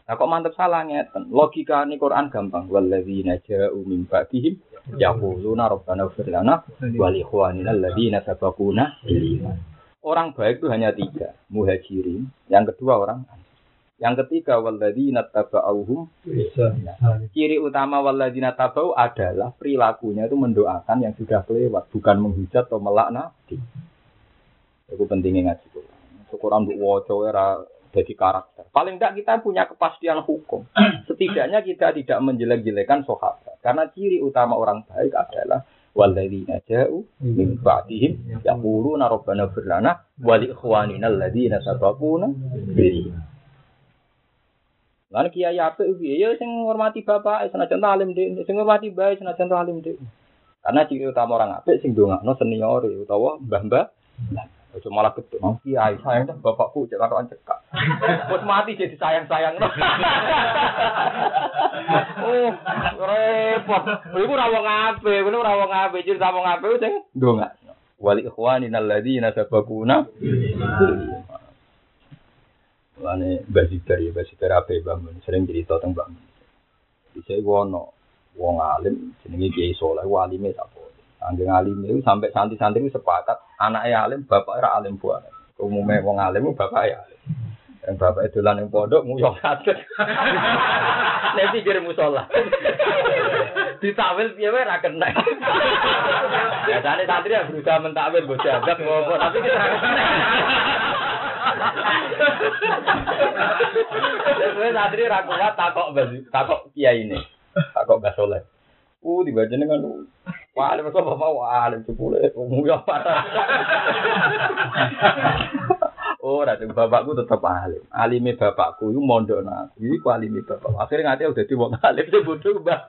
Lah kok mantep salah ngeten. Logikane Quran gampang. Walladzina ja'u min ba'dihim yaquluna rabbana ighfir lana wa li ikhwanina alladzina sabaquna bil iman. Orang baik itu hanya tiga, muhajirin, yang kedua orang yang ketiga walladzina tabauhum bisa. Ciri utama walladzina tabau adalah perilakunya itu mendoakan yang sudah kelewat, bukan menghujat atau melaknat. Itu pentingnya ngaji Quran. Quran mbok waca ora jadi karakter. Paling tidak kita punya kepastian hukum. Setidaknya kita tidak menjelek-jelekan sahabat. Karena ciri utama orang baik adalah walladzina ja'u min ba'dihim yaquluna rabbana ighfir lana wa li ikhwanina alladzina sabaquna bil iman. Lan kiai apik piye ya sing ngurmati bapak senajan alim dhek, sing ngurmati bae senajan alim dhek. Karena ciri utama orang apik sing ndongakno senior utawa mbah-mbah. Ojo malah ketuk, oh kiai sayang dah bapakku cek karo cekak. Wes mati jadi sayang-sayang. Oh, repot. Iku ra wong apik, kuwi ra wong apik, ciri wong apik sing ndongakno. Wali ikhwanina alladzina sabaquna. Lane basitar ya basitar ape bangun sering cerita tentang bangun. Bisa wono wong alim jenenge Kiai Saleh walime sapa. Anggere alim itu sampai santri-santri sepakat anake alim bapake ora alim buane. Umume wong alim bapake alim. Yang bapake dolan ning pondok nguyok kaget. Nek pikir musala. Ditawil piye wae ra kena. Biasane santri ya berusaha mentakwil mbok jabak ngopo tapi kita ra kena. Wes santri ra kuat takok takok kiai ini. Takok Mbah Saleh. Uh dibajane kan wah alim kok bapak wah alim cepule nguyok parah. Oh, rada bapakku tetap alim. Alime bapakku iku mondok nang. Iku alime bapak. Akhire ngate udah dadi wong alim sing bodho, Mbah.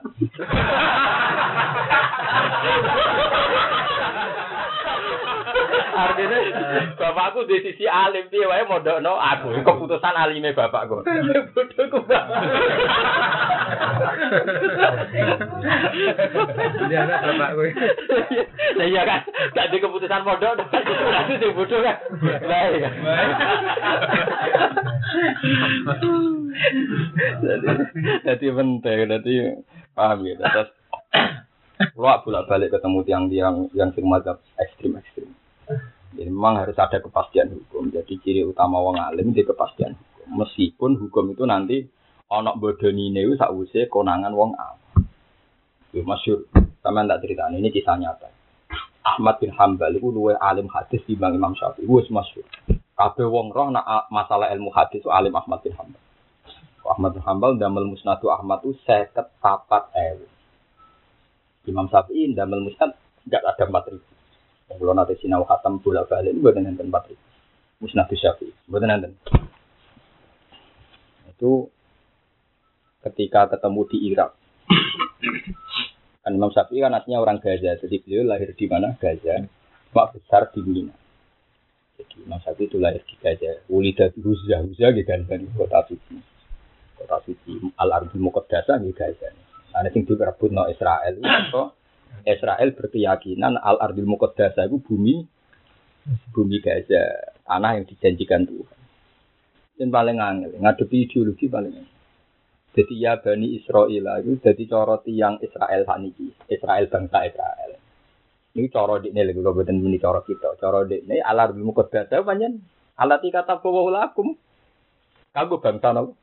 Artinya bapakku di sisi alim piye wae mondokno aku. Keputusan alime bapakku. Bodhoku, Mbah. Dia anak bapakku. Lah iya kan, gak di keputusan mondok, berarti sing bodho kan. Baik kan. Jadi penting, jadi paham ya. Terus, luak bolak-balik ketemu tiang-tiang yang sing mazhab ekstrim-ekstrim. Jadi memang harus ada kepastian hukum. Jadi ciri utama wong alim di kepastian hukum. Meskipun hukum itu nanti ana bodonine iku sakwise konangan wong alim. Itu masyhur. Sampeyan tak critani ini kisah nyata. Ahmad bin Hanbal iku luwih alim hadis dibanding Imam Syafi'i. Wis masyhur. Kabeh wong roh nak masalah ilmu hadis itu alim Ahmad bin Hanbal. Ahmad bin Hanbal damel musnadu Ahmad itu seket papat ewu. Imam Syafi'i damel musnad enggak ada empat ribu. Kalau nanti sinau khatam bolak balik itu buatan enten empat ribu. Musnad Syafi'i buatan enten. Itu ketika ketemu di Irak. Kan Imam Syafi'i kan aslinya orang Gaza, jadi beliau lahir di mana? Gaza. Mak besar di Mina. Jadi Imam Syafi'i itu lahir di Gaza. Ulidah di Huzah, Huzah di Gaza, di kota suci. Kota suci Al-Ardul Muqaddasah di Gaza. Nah, ini yang direbut no Israel. Itu Israel berkeyakinan Al-Ardul Muqaddasah itu bumi bumi Gaza, tanah yang dijanjikan Tuhan. Dan paling angel, ngadepi ideologi paling angel. Jadi ya Bani Israel itu jadi cara tiang Israel saniki, Israel bangsa Israel. Ini cara dekne lho kula boten muni cara kita. Cara dekne Al-Ardul Muqaddasah pancen alati kata bawa lakum. Kanggo bangsa napa?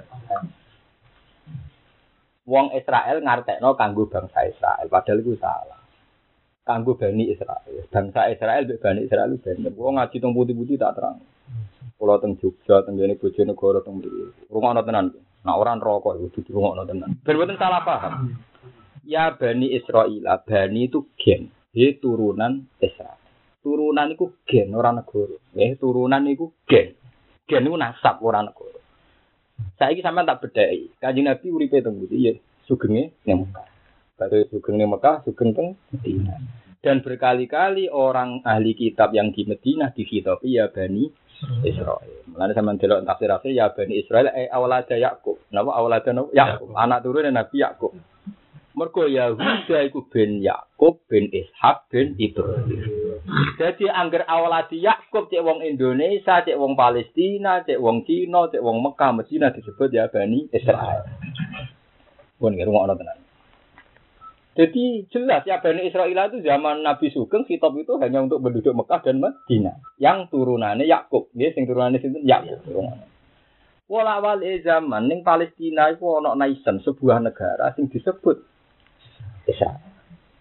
Wong Israel ngartekno kanggo bangsa Israel, padahal iku salah. Kanggo Bani Israel. Bangsa Israel mbek Bani Israel ben. Wong ngaji teng putih-putih tak terang. Kula teng Jogja, teng ngene Bojonegoro teng mriki. Rungokno tenan. Nah orang rokok itu dudu rungokno tenan. Ben boten salah paham. Ya Bani Israel, Bani itu gen, he turunan Israel. Turunan iku gen ora negara. Eh turunan iku gen. Gen iku nasab ora negara. Saiki sampean tak bedheki. Kanjeng Nabi uripe teng pundi ya sugenge ning Mekah. Baru sugeng ning Mekah, sugeng teng Madinah. Dan berkali-kali orang ahli kitab yang di Madinah dikhitabi ya Bani Israel. Mulane sampean delok tafsir-tafsir ya Bani Israel eh awalada Yakub. Napa awalada Yakub? Anak turune Nabi Yakub. Mergo Yahuda iku ben Yakub ben Ishak ben Ibrahim. Jadi angger awaladi Yakub cek wong Indonesia, cek wong Palestina, cek wong Cina, cek wong Mekah, Madinah disebut ya Bani Israil. Pun nggih rungokno tenan. Jadi jelas ya Bani Israil itu zaman Nabi Sugeng kitab itu hanya untuk penduduk Mekah dan Madinah. Yang turunannya Yakub, nggih sing turunannya sinten Yakub. Wala wali zaman ning Palestina iku ana nation sebuah negara sing disebut Israil.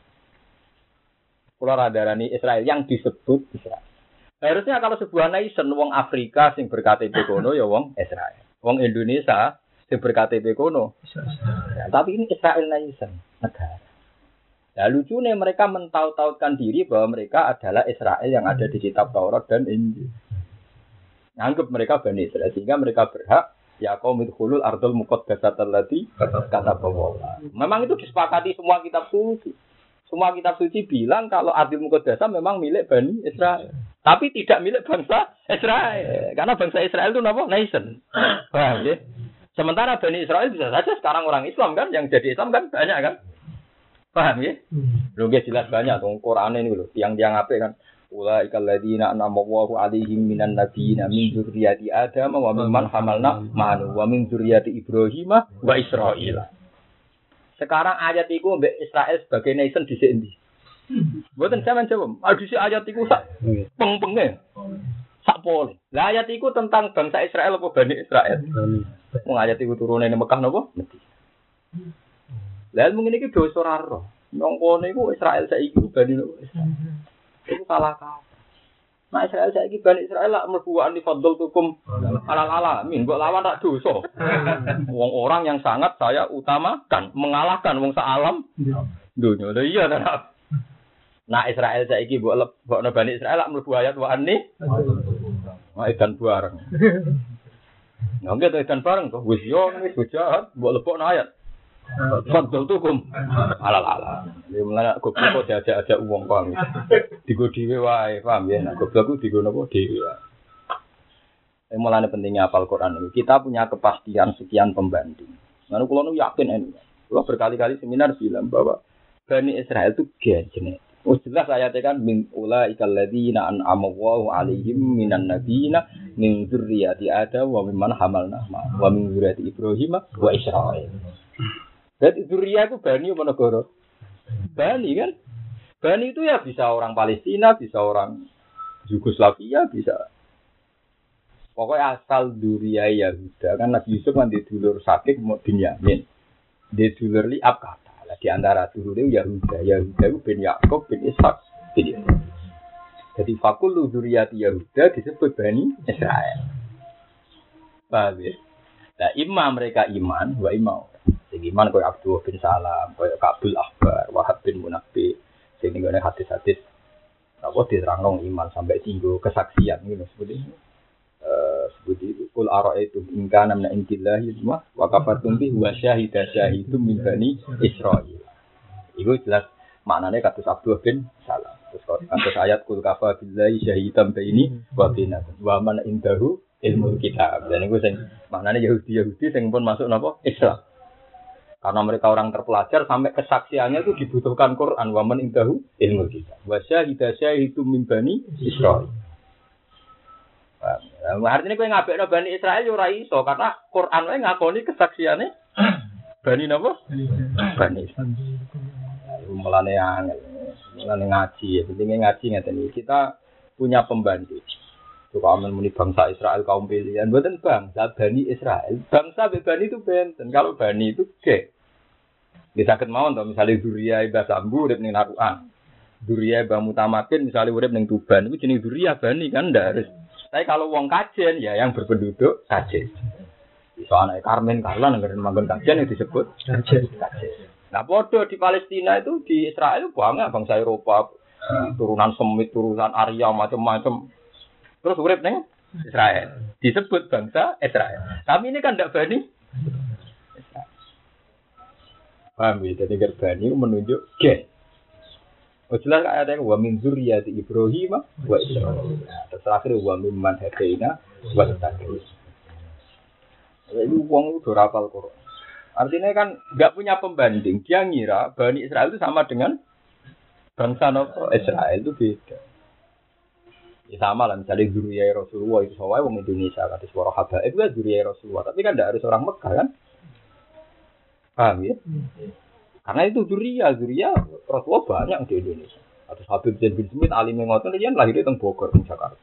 Kula radarani Israel yang disebut Israel. Harusnya kalau sebuah nation wong Afrika sing ber K T P kono ya wong Israel. Wong Indonesia sing ber K T P kono. Ya, tapi ini Israel nation negara. Ya lucunya mereka mentaut-tautkan diri bahwa mereka adalah Israel yang ada di kitab Taurat dan Injil. Anggap mereka Bani Israel sehingga mereka berhak ya qaumul khulul ardul muqaddasatal lati kata bahwa. Memang itu disepakati semua kitab suci. Semua kitab suci bilang kalau Ardul Muqaddasah memang milik Bani Israel. Tapi tidak milik bangsa Israel. Karena bangsa Israel itu apa? Nation. Paham ya? Sementara Bani Israel bisa saja sekarang orang Islam kan. Yang jadi Islam kan banyak kan. Paham ya? Loh jelas banyak. Tuh Quran ini loh. Tiang-tiang apa kan. Ulaikal ladzina an'ama Allahu 'alaihim minan nabiyyin min dzurriyyati Adam wa mimman hamalna ma'ahu wa min dzurriyyati Ibrahim wa Israil. Sekarang ayat itu mbek Israel sebagai nation di sini. Mboten sampean jawab. Adisi ayat itu sak peng-penge. Sak pole. Lah ayat itu tentang bangsa Israel apa Bani Israel? Wong ayat itu turune ning Mekah napa? Lah mung ngene iki dosa ora ro. Nang kono iku Israel saiki Bani Israel. Itu salah kaprah. Nah Israel saiki Bani Israel lak mlebu ani fadl tukum alal alamin, mbok lawan tak dosa. Wong orang yang sangat saya utamakan, mengalahkan wong saalam dunya. Lha iya ta. Nah Israel saiki mbok mbokno Bani Israel lak mlebu ayat wa anni wa ikan bareng. Nggih to ikan bareng to wis yo wis jahat mbok lebokno ayat. Fadl tukum alal ala. Ya mulane goblok kok diajak-ajak wong paham. Digo dhewe wae, paham ya. Nek goblok ku digo napa dhewe wae. Eh mulane pentingnya hafal Quran ini. Kita punya kepastian sekian pembanding. Lalu kula nu yakin ini. Kula berkali-kali seminar bilang bahwa Bani Israel itu genetik. Oh jelas ayatnya kan min ulaikal ladzina an'ama Allahu 'alaihim minan nabiyina min dzurriyyati Adam wa mimman hamalna wa min dzurriyyati Ibrahim wa Israil. Jadi Zuriya itu Bani apa negara? Bani kan? Bani itu ya bisa orang Palestina, bisa orang Yugoslavia, bisa. Pokoknya asal Zuriya Yahuda. Kan Nabi Yusuf kan di dulur Sakik bin Yamin. Di dulur Li'ab kata. Nah, di antara dulur itu Yahuda. Yahuda itu bin Yakob bin Ishak bin Yusuf. Jadi fakul Zuriyati Yahuda disebut Bani Israel. Paham ya? Nah imam mereka iman, wa imam. Sing iman koyo Abdullah bin Salam, koyo Kabul Ahbar, Wahab bin Munabbi, sing ngene hadis-hadis apa diterangno iman sampai tinggu kesaksian ngono seperti itu. Eh seperti itu kul ara'aitu in kana min indillahi wa kafartum bi wa syahida syahidum min bani Israil. Iku jelas maknane kados Abdullah bin Salam. Terus kados ayat kul kafa billahi syahidam baini wa bainakum wa man indahu ilmu kitab. Dan iku sing maknane Yahudi-Yahudi sing pun masuk napa Islam. Karena mereka orang terpelajar sampai kesaksiannya itu dibutuhkan Quran wa man indahu ilmu kitab. Wa syahida syahidum min bani Israil. Nah, artinya kowe ngabekno Bani Israil yo ora iso karena Quran wae ngakoni kesaksiane Bani napa? Bani Israil. Mulane angel. Mulane ngaji ya, pentingnya ngaji ngeten iki. Kita punya pembanding. Coba aman muni bangsa Israel kaum pilihan, bukan bangsa Bani Israel. Bangsa Bani itu benten. Kalau Bani itu ge. Bisa ketemu toh misalnya Duriya Ibah Sambu urip ning Narukan. Duriya Ibah Mutamakin misalnya urip ning Tuban. Itu jenis Duriya Bani kan ndak harus. Tapi kalau wong Kajen ya yang berpenduduk Kajen. Iso anake Karmen Karlan ngeren manggon Kajen yang disebut Kajen. Nah, bodoh di Palestina itu di Israel banyak bangsa Eropa, turunan Semit, turunan Arya macam-macam. Terus urip ning Israel. Disebut bangsa Israel. Tapi ini kan ndak Bani. Paham ya? Jadi Bani menunjuk gen. Oh jelas ada yang wa min dzurriyyati Ibrahim wa Israil. Terus terakhir wa mimman hadaina wa taqwa. Jadi wong udah hafal Quran. Artinya kan enggak punya pembanding. Dia ngira Bani Israel itu sama dengan bangsa Nabi Israel itu beda. Ya sama lah misalnya dzurriyyah Rasulullah itu sawai wong Indonesia kata suara habaib itu dzurriyyah Rasulullah, tapi kan tidak harus orang Mekah kan? Paham ya? Karena itu dzurriyyah, dzurriyyah Rasulullah banyak di Indonesia. Atau Habib Zain bin Smith alim ngoten riyen lahir teng Bogor teng Jakarta.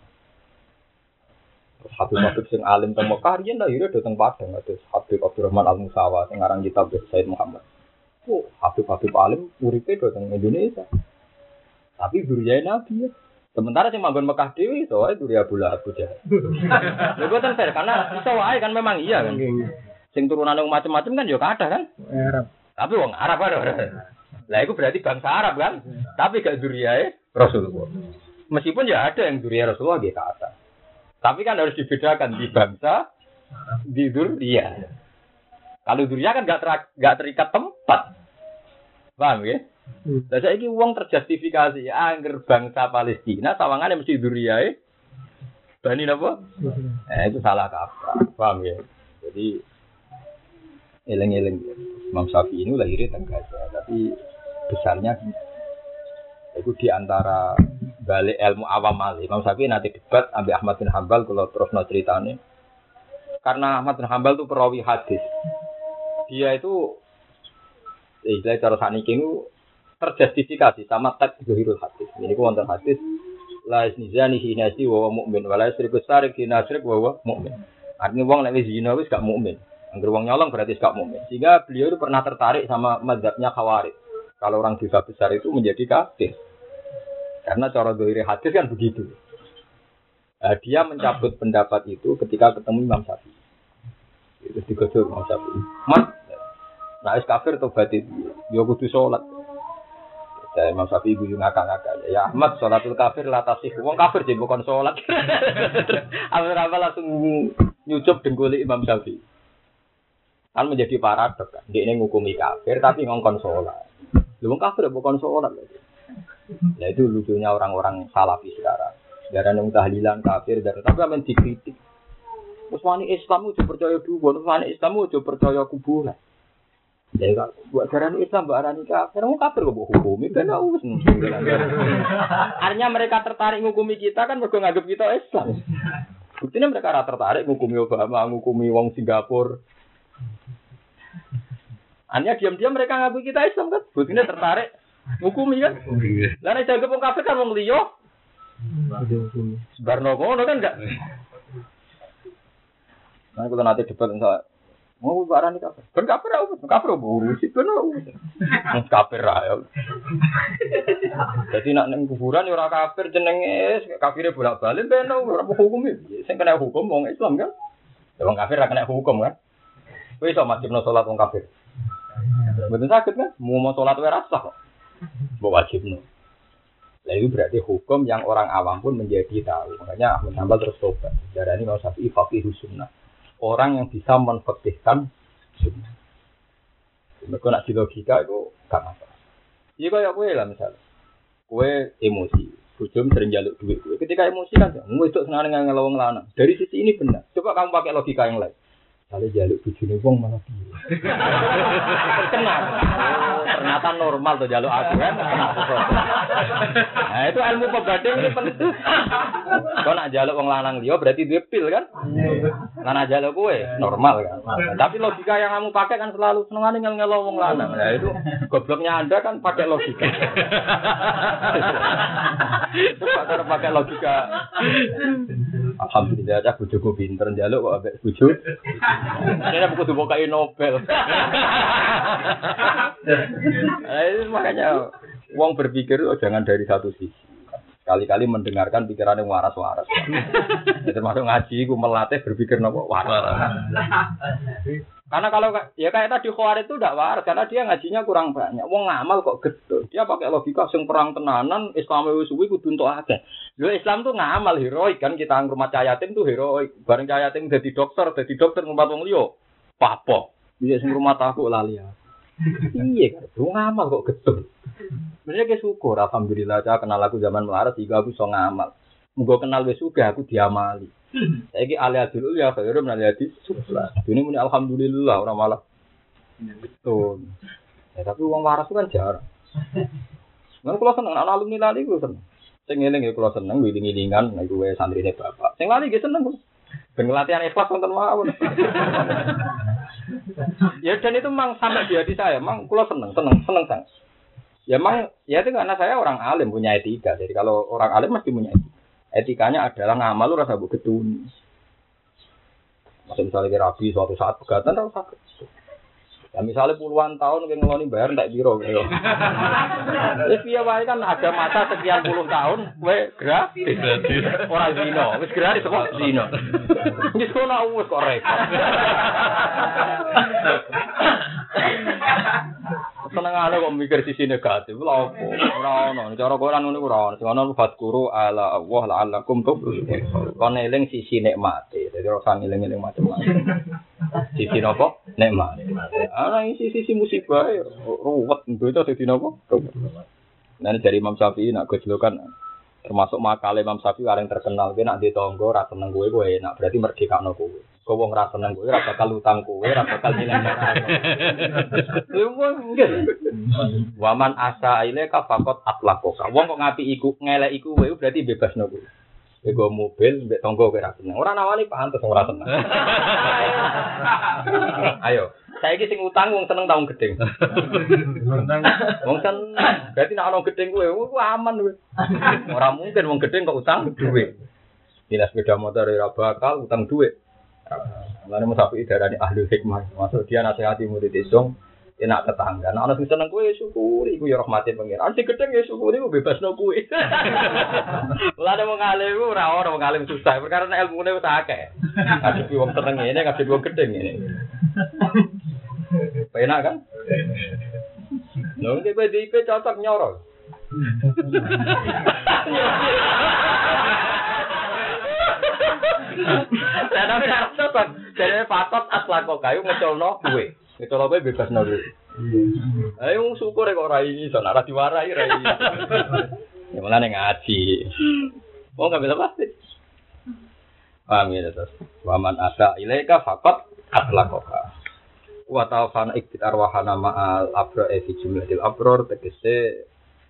Terus Habib-habib sing alim teng Mekah riyen lahir teng Padang, terus Habib Abdurrahman Al-Musawa sing aran kitab Said Muhammad. Oh, Habib-habib alim uripe teng Indonesia. Tapi dzurriyyah Nabi ya. Sementara sing manggon Mekah dhewe iso wae Dzurriyyah Abu Lahab Abu Jahal. Lha boten fair karena iso wae kan memang iya kan. Sing turunane macam-macam kan ya kathah kan? Arab. Tapi wong Arab kan. Lah iku berarti bangsa Arab kan? Tapi gak Dzurriyyah Rasulullah. Meskipun ya ada yang Dzurriyyah Rasulullah gitu kata. Tapi kan harus dibedakan di bangsa di Dzurriyyah. Kalau Dzurriyyah kan gak ter, gak terikat tempat. Paham ya? Lah saiki wong terjustifikasi angger bangsa Palestina sawangane mesti Dzurriyyah Bani napa? Eh itu salah kaprah. Paham ya? Jadi eleng-eleng Imam Syafi'i ini lahirnya teng Gaza, tapi besarnya itu di antara balik ilmu awam ali. Imam Syafi'i nanti debat ambil Ahmad bin Hanbal kalau terus no ceritanya. Karena Ahmad bin Hanbal itu perawi hadis. Dia itu eh cara saniki itu terjustifikasi sama teks Zuhirul Hadis. Ini ku wonten hadis la iznizani hinasi wa mukmin wa la isriku sarik hinasrik wa mukmin. Artinya wong nek wis zina wis gak mukmin. Angger wong nyolong berarti gak mukmin. Sehingga beliau itu pernah tertarik sama mazhabnya Khawarij. Kalau orang dosa besar itu menjadi kafir. Karena cara Zuhirul Hadis kan begitu. Nah, dia mencabut pendapat itu ketika ketemu Imam Syafi'i. Itu digosok Imam Syafi'i. Mas, nah wis kafir tobat itu. Yo kudu salat. Ya Imam Syafi'i guyu ngakak-ngakak. Ya Ahmad sholatul kafir la tasih. Wong kafir jek bukan salat. Apa-apa langsung nyucup dengkul Imam Syafi'i. Kan menjadi paradoks kan. Dia ini ngukumi kafir tapi ngongkon salat. Lha wong kafir bukan salat. Nah itu lucunya orang-orang salafi sekarang. Darah yang tahlilan kafir darah tapi amen dikritik. Wes wani Islam udah percaya dulu, wes wani Islam udah percaya kuburan. Jadi kalau buat jaran Islam, buat arani kafir, mau kafir kok hukumi, kan aus. Artinya mereka tertarik ngukumi kita kan mereka nganggap kita Islam. Buktinya mereka rata tertarik ngukumi Obama, ngukumi wong Singapura. Artinya diam-diam mereka ngaku kita Islam kan, buktinya tertarik ngukumi kan. Lalu jaga wong kafir kan wong liya. Sebarno ngono kan enggak. Nah kalau nanti debat enggak mau barang ini kafir. Ben kafir apa? Kafir urus itu no. Kafir ayo. Jadi nak neng kuburan ya orang kafir jenenge kafirnya bolak-balik ben ora hukum iki. Sing kena hukum wong Islam kan. Wong kafir ora kena hukum kan. Kowe iso wajibno salat wong kafir. Mboten sakit kan? Mau mau salat wae ra sah kok. Mbok wajibno. Lah itu berarti hukum yang orang awam pun menjadi tahu. Makanya Ahmad Hanbal terus tobat. Darani Imam Syafi'i faqihus sunnah. Orang yang bisa menfakihkan sunnah. Mereka nak di logika itu gak masalah. Iya kayak gue lah misalnya. Gue emosi. Bujum sering jaluk duit gue. Ketika emosi kan, gue itu senang dengan ngelawang lanang. Dari sisi ini benar. Coba kamu pakai logika yang lain. Kalau jaluk bujune wong malah piye. Terkenal. Oh, ternyata normal tuh jaluk aku kan. Nah, itu ilmu pebading ini penting. Kau nak jaluk wong lanang liya berarti dia pil kan? Lanang jaluk kowe normal kan. Nah, tapi logika yang kamu pakai kan selalu senengane ngel-ngelo wong lanang. Nah, itu gobloknya Anda kan pakai logika. Coba kalau pakai logika. Alhamdulillah aja bojoku pinter njaluk kok ambek bojo. Ini buku tuh bukai Nobel. Nah, itu makanya uang berpikir oh, jangan dari satu sisi. Kali-kali mendengarkan pikiran yang waras-waras. Termasuk ngaji, aku melatih berpikir nopo waras. Karena kalau ya kayak tadi Khawarij itu tidak waras karena dia ngajinya kurang banyak. Wong ngamal kok gedhe. Dia pakai logika sing perang tenanan, Islam wis suwi kudu entuk akeh. Lho Islam tuh ngamal heroik kan kita ngrumat cah yatim tuh heroik. Bareng cah yatim dadi dokter, dadi dokter ngrumat wong liya. Papo. Bisa sing rumah aku lali ya. Iya kan, wong ngamal kok gedhe. Sebenarnya ke syukur alhamdulillah cah kenal aku zaman melarat sehingga aku iso ngamal. Muga kenal wis sugih aku diamali. Saiki alih dulu ya khairum nang hadis sufla. Dene muni alhamdulillah ora malah. Betul. Ya tapi wong waras kan jarang. Nang kula seneng ana alumni lali kula seneng. Sing eling ya kula seneng wiling-wilingan nek kuwe santrine bapak. Sing lali nggih seneng. Ben latihan ikhlas wonten mawon. Ya dan itu memang sampai di hati saya, memang kula seneng, seneng, seneng sangat. Ya memang ya itu karena saya orang alim punya etika. Jadi kalau orang alim mesti punya etika. Etikanya adalah ngamal lu rasa mbok gedun. Masih misalnya rabi suatu saat pegatan ora usah. Ya misalnya puluhan tahun kayak ngeloni bayar ndak biro gitu. Ya piye wae kan ada masa sekian puluh tahun kowe gratis. Ora zino, wis gratis kok zino. Wis kono wis kok repot. Senengane kok mikir sisi negatif lha opo? Ora ono, cara Quran ngono ora ono. Sing ono fadkuru ala Allah la'allakum tuflihun. Kon eling sisi nikmate. Dadi ora sang eling-eling macam-macam. Sisi napa? Nikmat. Ana isi sisi musibah ruwet itu dadi napa? Nah dari Imam Syafi'i nak gojlokan termasuk makale Imam Syafi'i areng terkenal ki nak ditangga ra seneng kowe kowe enak berarti merdekakno kowe. Kowe wong ra seneng kowe ra bakal utang kowe ra bakal nilai-nilai. Mungkin. Waman asa ilaika faqat atlaqaka. Wong kok ngapi iku ngelek iku kowe berarti bebasno kowe. Ego mobil mbek tangga kowe ra seneng. Ora nawani pantes ora seneng. Ayo, saiki sing utang wong seneng taung gedeng. Wong seneng. Berarti nek ana gedeng kowe aman kowe. Ora mungkin wong gedeng kok utang duit. Dinas sepeda motor ora bakal utang duit. Lan Mas Sapi darani ahli hikmah. Maksud dia nasihati murid isong enak tetangga. Nek ana sing seneng kowe syukuri iku ya rahmate pangeran. Sing gedeng ya syukuri ku bebasno kowe. Lah nek wong alim ora ora wong alim susah. Perkara nek ilmune wis akeh. Ngadepi wong seneng ngene, ngadepi wong gedeng ngene. Penak kan? Lho iki P D I P cocok nyoro. Saya nak cocok. Jadi patot aslako kayu ngecolno duwe. Ngecolno kowe bebasno duwe. Ayo syukur kok ora ini sono ora diwarai ra iki. Ya malah ngaji. Oh ngambil apa sih? Paham ya terus. Waman asa ilaika faqat atlaqaka. Wa ta'fana iktit arwahana ma'al abra fi jumlatil abror tegese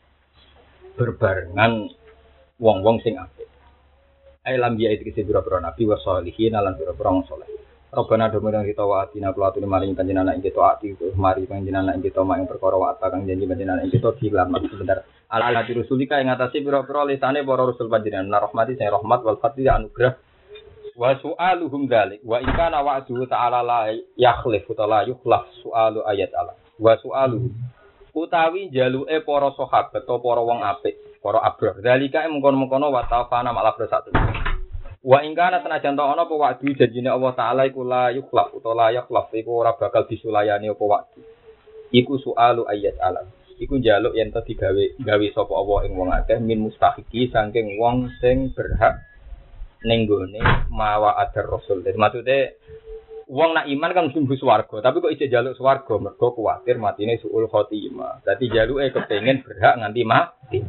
berbarengan wong-wong sing apik. Ai lam ya iki sira-sira nabi wa sholihin lan sira-sira wong saleh. Robana domirang kita wa atina kulatune maring panjenengan ing kita ati mari panjenengan ing kita mak ing perkara wa kang janji panjenengan ing kita dilamar sebentar. Ala ati rusulika ing atase pira-pira lisane para rasul panjenengan rahmati sing rahmat wal fadli anugrah wa su'aluhum dzalik wa in kana wa'du ta'ala la yakhlif ta'ala yukhlaf su'alu ayat Allah wa su'aluhum utawi jaluke para sahabat atau para wong apik para abrar dzalika mengkon-mengkono wa ta'fana malah bersatu wa in kana senajan ta ana apa wa'du janjine Allah taala iku la yukhlaf utawa la yakhlaf iku ora bakal disulayani apa wa'du iku su'alu ayat Allah iku njaluk yen to digawe gawe sapa Allah ing wong akeh min mustahiqi saking wong sing berhak ning gone mawa adar rasul. Dadi maksude wong nak iman kan mesti mlebu swarga, tapi kok isih njaluk swarga mergo kuwatir matine suul khotimah. Dadi njaluke kepengin berhak nganti mati.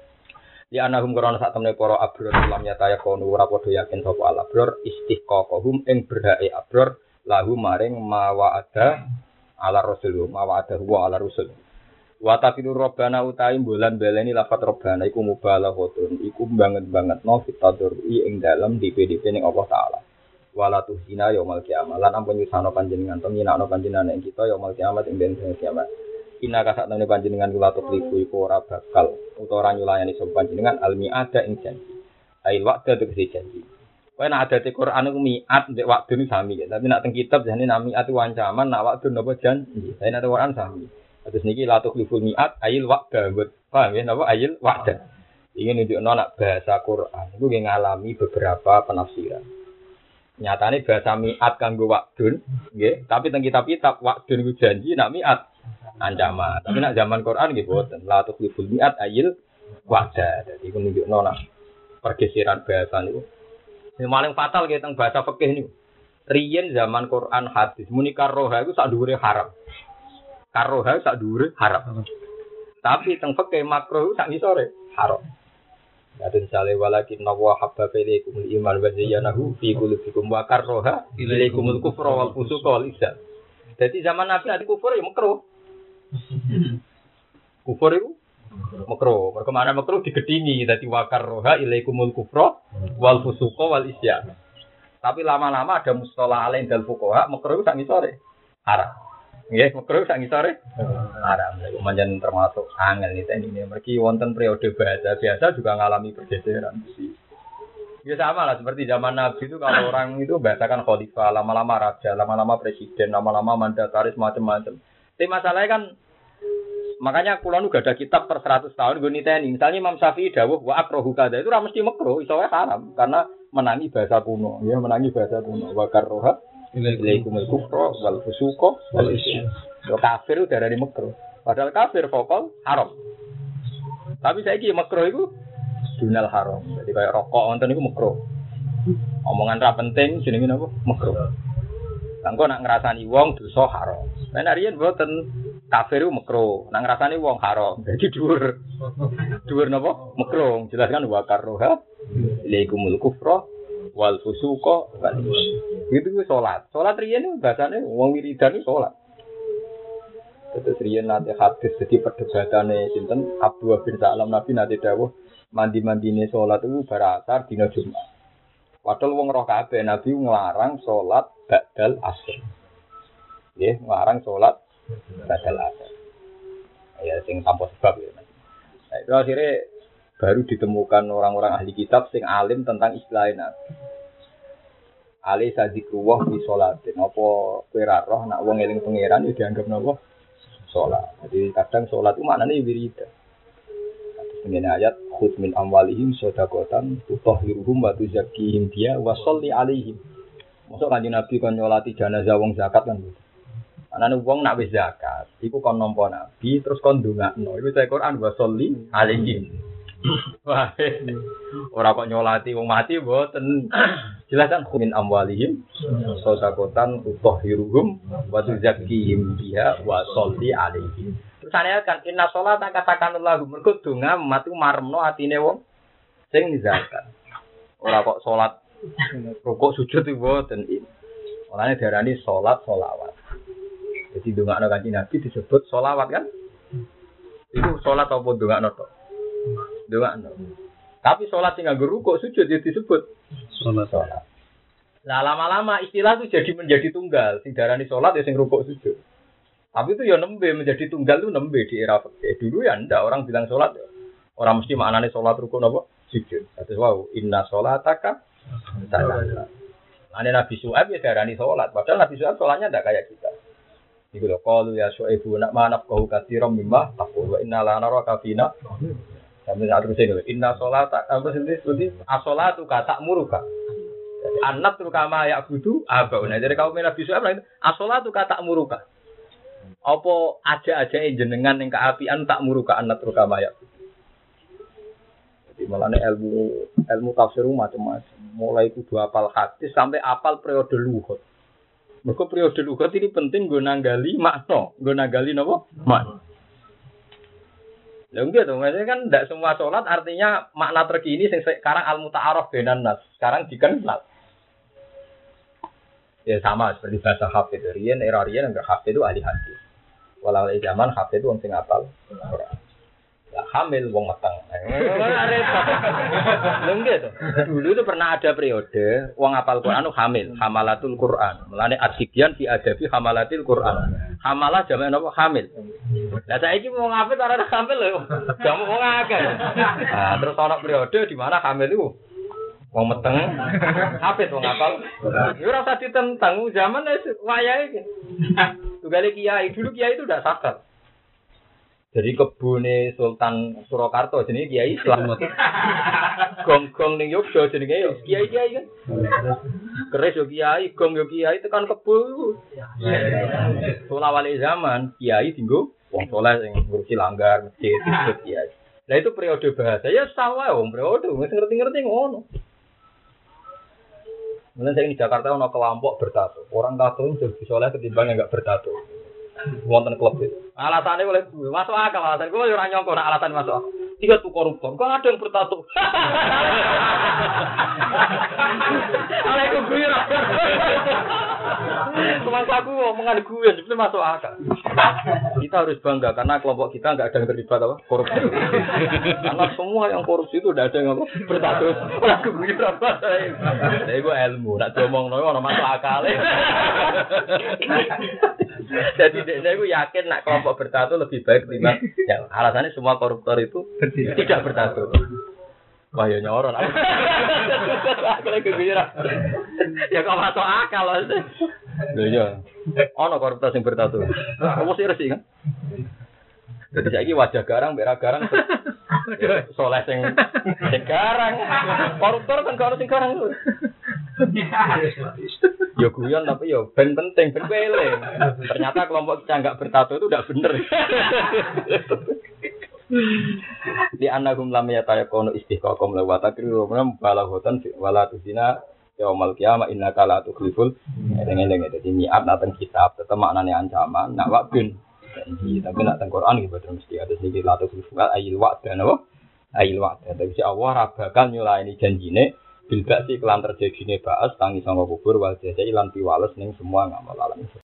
Ya anahum karana sak temne para abror lam nyataya kono ora padha yakin sapa al abror istiqaqahum ing berhake abror lahu maring mawa ada ala rasul mawa ada wa ala rasul. Wa tafidur robbana utawi bulan baleni lafat robbana iku mubalaghotun iku banget-bangetno fitadurri ing dalem D P D P ning Allah taala. Wala tuhina yaumil kiamah lan ampun nyusano panjenengan to nyinakno panjenengan ing kita yaumil kiamat ing dina kiamat. Inna kasatane panjenengan kula tukliku iku ora bakal utawa ora nyulayani sapa panjenengan almi ada ing janji. Ail wa'da tegese janji. Kowe nek adate Quran iku miat mbek wa'du sami, tapi nek teng kitab jane namiat iku ancaman nek wa'du napa janji. Tapi nek Quran sami. Terus niki la tukhliful mi'at ayil wa'da. Paham ya napa ayil wa'da. Iki nunjukno nek bahasa Quran iku ngalami beberapa penafsiran. Nyatane bahasa mi'at kanggo wa'dun, nggih, tapi teng kitab-kitab wa'dun iku janji nek mi'at ancaman. Tapi nek zaman Quran nggih boten la tukhliful mi'at ayil wa'da. Dadi iku nunjukno nek pergeseran bahasa niku. Sing paling fatal nggih teng bahasa fikih niku. Riyen zaman Quran hadis muni karroha iku sak dhuwure haram. Karoha sak dhuwure haram. Tapi teng fikih makruh sak ngisore haram. Kadang sale walakin wa habba ilaikumul iman wa zayyanahu fi qulubikum wa karroha ilaikumul kufra wal fusuqa wal isyan. Dadi zaman Nabi ati kufur ya makruh. Kufur itu makruh. Mergo mana makruh digedingi dadi wakar roha ilaikumul kufra wal fusuqa wal isyan. Tapi lama-lama ada mustalah alain dal fuqaha makruh sak ngisore haram. Nggih, makruh sak ngisore haram. Iku manjen termasuk angel ini mergi wonten periode bahasa biasa juga ngalami pergeseran sih. Ya sama lah seperti zaman Nabi itu kalau orang itu bahasakan khalifah, lama-lama raja, lama-lama presiden, lama-lama mandataris macam-macam. Tapi masalahnya kan makanya kula nu gak ada kitab per seratus tahun gue niteni. Misalnya Imam Syafi'i dawuh wa akrahu kada itu ora mesti makruh, iso wae haram karena menangi bahasa kuno. Ya menangi bahasa kuno. Wa karroha ilaikumul kufra wal fusuqa wal isyan. Yo kafir udah dari makruh. Padahal kafir vokal haram. Tapi saiki makruh itu dunal haram. Jadi kayak rokok wonten niku makruh. Omongan ra penting jenenge napa? Makruh. Langko nak ngrasani wong dosa haram. Nek riyen mboten kafir ku makruh, nak ngrasani wong haram. Dadi dhuwur. Dhuwur napa? Makruh. Jelaskan wa karroha ilaikumul kufra wal fusuqa wal isyan. Itu ku salat. Salat riyen niku bahasane wong wiridan iki salat. Terus riyen nate hadis dadi perdebatane sinten Abdullah bin Salam Nabi nate dawuh mandi-mandine salat itu barasar dina Jumat. Padahal wong roh kabeh Nabi nglarang salat ba'dal asr. Nggih, nglarang salat ba'dal asr. Ya sing tanpa sebab ya. Nah, itu akhirnya baru ditemukan orang-orang ahli kitab sing alim tentang istilah Nabi. Ali sadzikruwah fi sholatin. Apa kowe ra roh nek wong eling pangeran ya dianggap napa? Salat. Jadi kadang salat itu maknane wiridan. Ini ayat khudz min amwalihim shadaqatan tutahhiruhum wa tuzakkihim biha wa sholli alaihim. Mosok Kanjeng Nabi kon nyolati jenazah wong zakat kan. Anane wong nak wis zakat, iku kon nampa Nabi terus kon ndongakno. Iku cek Quran wa sholli alaihim. Wah. Ora kok nyolati wong mati mboten. Jelas kan khudz min amwalihim shadaqatan tutahhiruhum wa tuzakkihim biha wa sholli alaihim. Terusane kan inna sholata katakan lahu mergo donga mati maremno atine wong sing zakat. Ora kok salat rukuk sujud iki mboten. Olane diarani salat selawat. Jadi dongakno Kanjeng Nabi disebut selawat kan? Itu salat apa dongakno tok? Dongakno. Tapi salat sing nganggo rukuk sujud ya disebut salat. Lah lama-lama istilah itu jadi menjadi tunggal. Sing diarani salat ya sing rukuk sujud. Tapi itu ya nembe menjadi tunggal itu nembe di era fikih. Dulu ya ndak orang bilang salat ya. Orang mesti maknane salat rukun apa? Sujud. Terus wow, inna sholataka salat. Ane Nabi Syuaib ya darani salat, padahal Nabi Syuaib salatnya ndak kayak kita. Iku lho qalu ya Syuaibu nak manaf kau katsiran mimma taqul wa inna la naraka fina. Sampai saat itu saya inna sholata apa sih itu? As-sholatu ka ta'muruka. Anak tu kama ya budu apa? Nah dari kaum Nabi Syuaib lah itu as-sholatu ka ta'muruka. Apa aja-aja jenengan yang keapian tak muruka anak terukama ya. Jadi malah ilmu ilmu tafsir macam-macam. Mulai kudu apal hadis sampai apal periode lughat. Mergo periode lughat ini penting nggo nanggali makna, nggo nanggali napa? Makna. Lha enggak tuh, maksudnya kan tidak semua sholat artinya makna terkini sing sekarang al-muta'arraf bainan nas. Sekarang dikenal. Ya sama seperti bahasa hafid riyen era riyen enggak hafid itu ahli hadis. Walau di zaman hafid itu wong sing apal. Lah hamil wong meteng. Lha enggak tuh. Dulu itu pernah ada periode wong apal Quran itu hamil, hamalatul Quran. Mulane ad-sibyan fi adabi hamalatil Quran. Hamalah jamak napa hamil. Lah saiki wong hafid ora hamil lho. Jamu wong akeh. Nah, terus ana periode di mana hamil itu wong meteng, hafid wong apal. Ya ora usah ditentang zaman wis wayahe iki. Tugale kiai, dulu kiai itu udah sakar. Jadi kebune Sultan Surakarta jenenge Kiai Slamet. Gong-gong ning Yogya jenenge kiai-kiai kan. Keris yo kiai, gong yo kiai tekan kebo. Soal awale zaman kiai dinggo wong saleh sing ngurusi langgar, masjid, disebut kiai. Lah itu periode bahasa ya sawae wong periode wis ngerti-ngerti ngono. Mulai saya di Jakarta ono kelompok bertato. Orang tato itu lebih soleh ketimbang yang enggak bertato. Wonten klub itu. Alasannya boleh masuk akal alasan. Gue ora nyongko nak alasan masuk. Dia tuh koruptor, kok ada yang bertato. Alaikum gue. Semangkaku omongan gue, itu masuk akal. Kita harus bangga karena kelompok kita nggak ada yang terlibat apa korupsi. Karena semua yang korupsi itu udah ada yang apa bertato. Aku gue apa? Saya gue ilmu, nak ngomong noy orang masuk akal. Jadi saya gue yakin nak kelompok bertato lebih baik timbang. Ya, alasannya semua koruptor itu tidak bertato. Wah ya nyoron. Aku lagi kepikiran. Ya kok masuk akal loh. Lho ya. Ono koruptor sing bertato. Apa sih resik kan? Jadi saiki wajah garang, merah garang. Soleh sing sing garang. Koruptor kan gak ono sing garang lho. Yo guyon tapi yo ben penting, ben eling. Ternyata kelompok kita enggak bertato itu udah bener. Di anagum lam yatayaqunu istiqaqam la wa takriru man balaghotan wala tuzina yaumal qiyamah innaka la tukhliful eling-eling dadi niat nateng kitab tetep maknane ancaman nak wa'dun janji tapi nak teng Quran iki boten mesti ada sing la tukhliful ayil wa'da napa ayil wa'da dadi Allah ra bakal nyulaini janjine bil ba'si kelan terjadine ba'as tangi sanga kubur wal jazai lan piwales ning semua ngamal alam